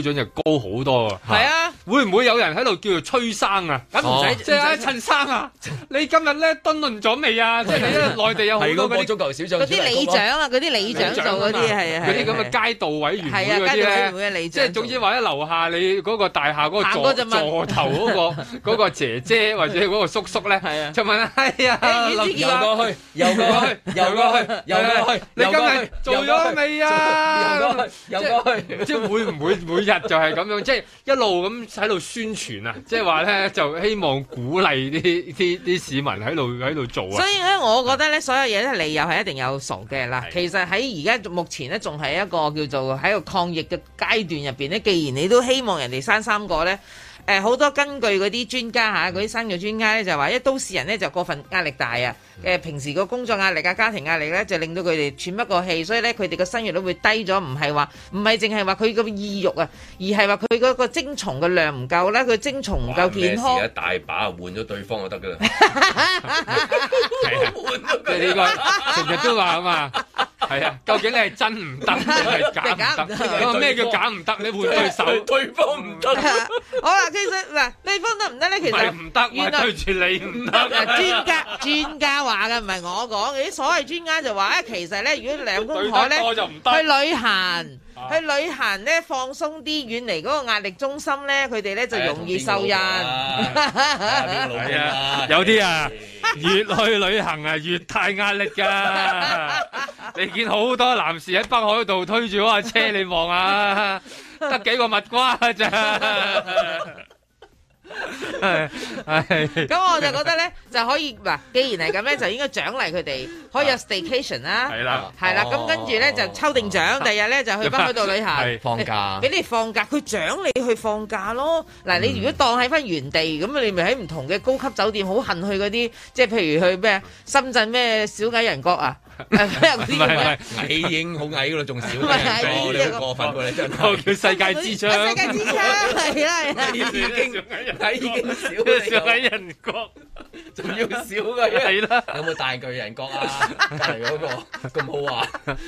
準就高好多啊！ 係啊， 會唔會有人喺度叫做催生啊？ 咁唔使， 即係啊，陳生啊，你今日咧敦論咗未啊？即係你內地有好多嗰啲足球小將， 嗰啲里長啊，嗰啲里長做嗰啲係啊， 嗰啲咁嘅街道委員會嗰啲咧，即係總之話喺樓下你嗰個大廈嗰個座座頭嗰個嗰個姐姐或者嗰個叔叔咧，就問係啊， 游過去，游過去，游過去，游過去， 你今日做咗未啊？ 游過去，游過去， 即係會唔會每日就係咁樣，即係一路咁喺度宣傳啊？即係話咧，就希望鼓勵啲啲啲市民喺度喺度做啊。 所以咧，我覺得咧，所有嘢咧理由係一定有傻嘅啦。其實喺而家目前咧，仲係一個叫做喺個抗疫嘅階段入邊咧。既然你都希望人哋生三個咧。誒好、呃、多根據嗰啲專家嚇，嗰啲生育專家咧就話，因為都市人咧就過分壓力大啊，誒平時個工作壓力啊、家庭壓力咧就令到佢哋喘不過氣，所以咧佢哋個生育率會低咗，唔係話唔係淨係話佢個意欲啊，而係話佢嗰個精蟲嘅量唔夠啦，佢精蟲唔夠健康。 一大把換咗對方就得㗎啦， 即係呢個成日都話啊嘛。係啊，究竟你係真唔得定係假唔得？咁咩叫假唔得？你換對手， 對方唔得。 好啦，其實嗱，對方得唔得咧？其實唔得，原來對住你唔得。 專家專家話嘅，唔係我講嘅。啲所謂專家就話咧，其實咧，如果兩公婆咧去旅行，去旅行咧放鬆啲，遠離嗰個壓力中心咧，佢哋咧就容易受孕。 係啊，有啲啊，越去旅行啊，越大壓力㗎。你見好多男士喺北海道推住嗰架車，你望下，得幾個蜜瓜咋？ 咁我就覺得咧，就可以嗱，既然係咁咧，就應該獎勵佢哋，可以有 staycation 啦， 係啦， 係啦，咁跟住咧就抽定獎，第日咧就去北海道旅行， 放假， 俾你放假，佢獎你去放假咯。嗱，你如果當喺翻原地，咁你咪喺唔同嘅高級酒店，好恨去嗰啲，即係譬如去咩深圳咩小矮人國啊。唔係唔係，矮已經好矮噶啦，仲少嘅，你好過分喎！你真係叫世界之窗， 世界之窗係啦係啦， 已經矮已經少小矮人國， 仲要少嘅係啦。 有冇大巨人國啊？隔離嗰個咁好玩，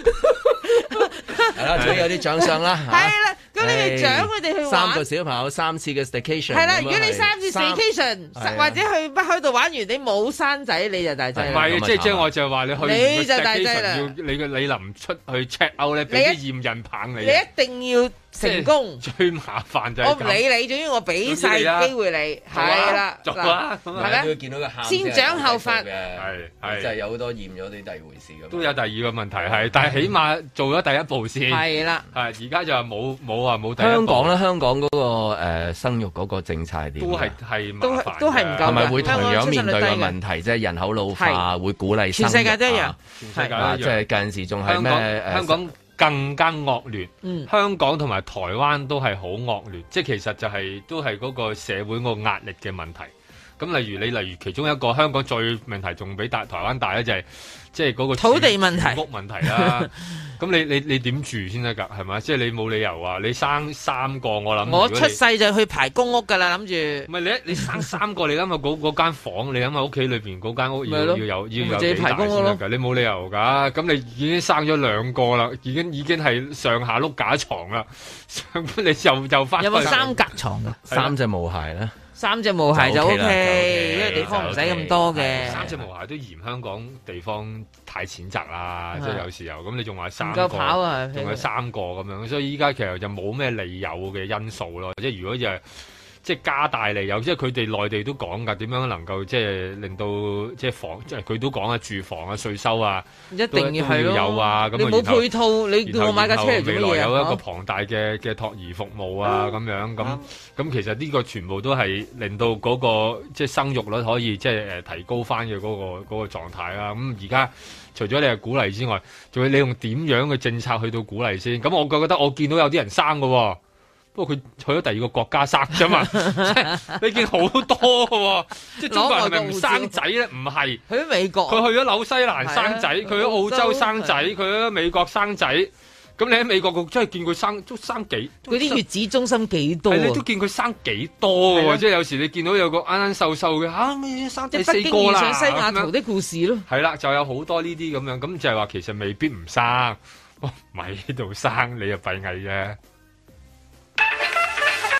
係啦，總之有啲獎賞啦。係啦，咁你哋獎佢哋去玩三個小朋友三次嘅 staycation。 係啦，如果你三次 staycation 或者去北海道玩完，你冇生仔你就大劑。 唔係，即係即係我就話你去。 你就大劑啦！ 要你嘅你臨出去 check out 咧，俾啲驗孕棒你。 你一定要成功。 最麻煩就係我唔理你，總之我俾晒機會你，係啦。 做啊！ 係咪都要見到個喊？ 先獎後罰嘅，係係就係有好多驗咗啲第二回事咁。 都有第二個問題係，但係起碼做咗第一步先。 係啦， 係而家就係冇冇話冇第一步。 香港咧，香港嗰個誒生育嗰個政策係點？ 都係係麻煩， 都係唔夠。 係咪會同樣面對個問題，即係人口老化會鼓勵生育？ 全世界都一樣。 係， 即係近時仲係咩？ 香港更加惡劣，嗯、香港同埋台灣都係好惡劣，即係其實就係、是、都係嗰個社會個壓力嘅問題。咁例如你例如其中一個香港最問題仲比大台灣大咧，就係即係嗰個土地問題、 屋問題啦。咁你你你點住先得㗎？係咪？即係你冇理由話你生三個，我諗我出世就去排公屋㗎啦，諗住。 唔係你一你生三個，你諗下嗰嗰間房，你諗下屋企裏邊嗰間屋要要有要有幾大先得㗎？你冇理由㗎。咁你已經生咗兩個啦，已經已經係上下碌架床啦。你又又翻有冇三格床㗎？ 三隻毛孩咧？ 三隻毛孩就 O K，因為地方唔使咁多嘅。 三隻毛孩都嫌香港地方太淺窄啦，即係有時候咁你仲話三個， 唔夠跑啊， 仲有三個咁樣，所以依家其實就冇咩利誘嘅因素咯。即係如果就係即係加大利誘，即係佢哋內地都講㗎，點樣能夠即係令到即係房，即係佢都講啊，住房啊，稅收啊， 一定要係咯。 有啊，咁你冇配套，你叫我買架車嚟做乜嘢啊？ 未來有一個龐大嘅嘅托兒服務啊，咁樣咁咁，其實呢個全部都係令到嗰個即係生育率可以即係誒提高翻嘅嗰個嗰個狀態啦。咁而家除咗你係鼓勵之外，仲要你用點樣嘅政策去到鼓勵先？咁我覺得我見到有啲人生㗎喎。不過佢去咗第二個國家生啫嘛，即係你見好多嘅喎，即係中國人係咪唔生仔咧？唔係， 去咗美國， 佢去咗紐西蘭生仔，佢喺澳洲生仔，佢喺美國生仔。咁你喺美國佢真係見佢生都生幾？ 嗰啲月子中心幾多？ 你都見佢生幾多嘅喎？即係有時你見到有個啱啱瘦瘦嘅嚇，咩生第四個啦？ 北京遇上西雅圖的故事咯。 係啦，就有好多呢啲咁樣，咁就係話其實未必唔生，咪喺度生你又閉翳啫。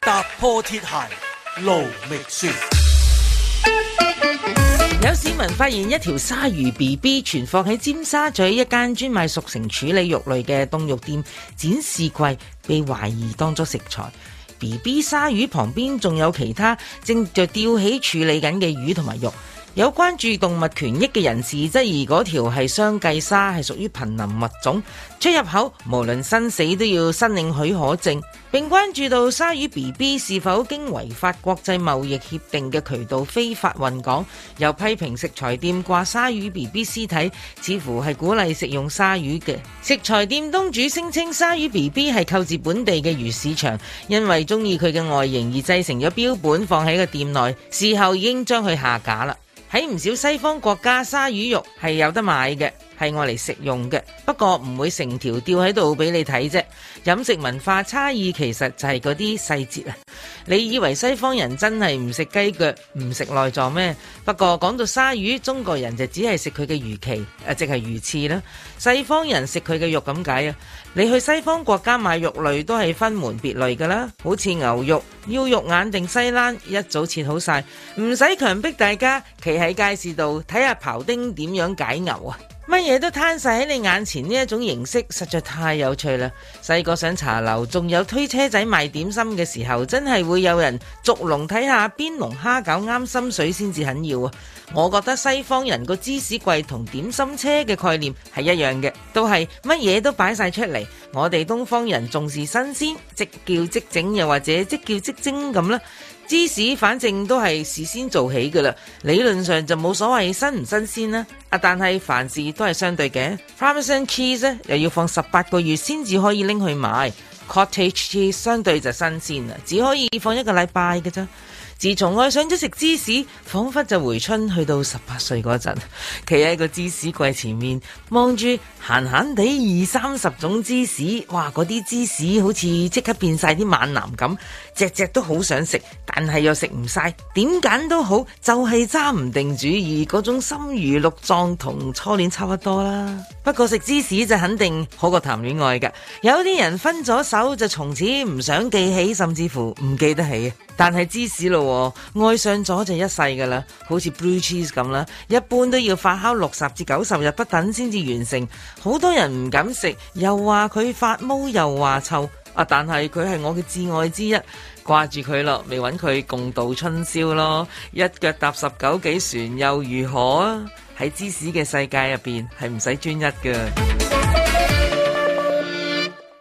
踏破鐵鞋路未雪。 有市民發現一條鯊魚 B B 存放喺尖沙咀一間專賣熟成處理肉類嘅凍肉店展示櫃，被懷疑當作食材。B B 鯊魚旁邊仲有其他正在吊起處理緊嘅魚同埋肉。有關注動物權益嘅人士質疑嗰條係雙髻鯊，係屬於瀕臨物種，出入口無論生死都要申領許可證，並關注到鯊魚 B B 是否經違法國際貿易協定嘅渠道非法運港，又批評食材店掛鯊魚 B B 屍體，似乎係鼓勵食用鯊魚嘅。食材店東主聲稱鯊魚 B B 係購自本地嘅魚市場，因為中意佢嘅外形而製成咗標本放喺個店內，事後已經將佢下架啦。喺唔少西方國家，鯊魚肉係有得買嘅，係愛嚟食用嘅，不過唔會成條吊喺度俾你睇啫。飲食文化差異其實就係嗰啲細節啊！你以為西方人真係唔食雞腳唔食內臟咩？不過講到鯊魚，中國人就只係食佢嘅魚鰭，誒即係魚翅啦。西方人食佢嘅肉咁解啊！你去西方國家買肉類都係分門別類噶啦，好似牛肉、腰肉眼定西冷，一早切好晒，唔使強迫大家企喺街市度睇下庖丁點樣解牛啊！乜嘢都攤晒喺你眼前，呢一種形式實在太有趣啦！細個上茶樓仲有推車仔賣點心嘅時候，真係會有人逐籠睇下邊籠蝦餃啱心水先至肯要啊！我覺得西方人個芝士櫃同點心車嘅概念係一樣嘅，都係乜嘢都擺晒出嚟。我哋東方人重視新鮮，即叫即整，又或者即叫即蒸咁啦。芝士反正都係事先做起噶啦，理論上就冇所謂新唔新鮮啦。啊，但係凡事都係相對嘅。Parmesan cheese 咧又要放十八個月先至可以拎去賣 ，Cottage cheese 相對就新鮮啦，只可以放一個禮拜嘅啫。自從愛上咗食芝士，彷彿就回春去到十八歲嗰陣，企喺個芝士櫃前面，望住閒閒地二三十種芝士，哇！嗰啲芝士好似即刻變晒啲猛男咁，隻隻都好想食，但係又食唔晒，點揀都好，就係揸唔定主意，嗰種心如鹿撞，同初戀差不多啦。不過食芝士就肯定好過談戀愛㗎，有啲人分咗手就從此唔想記起，甚至乎唔記得起。但係芝士咯，愛上咗就一世噶啦，好似 blue cheese 咁啦，一般都要發酵六十至九十日不等先至完成。好多人唔敢食，又話佢發毛，又話臭啊！但係佢係我嘅摯愛之一，掛住佢咯，未揾佢共度春宵咯，一腳踏十九幾船又如何啊？喺芝士嘅世界入邊係唔使專一噶。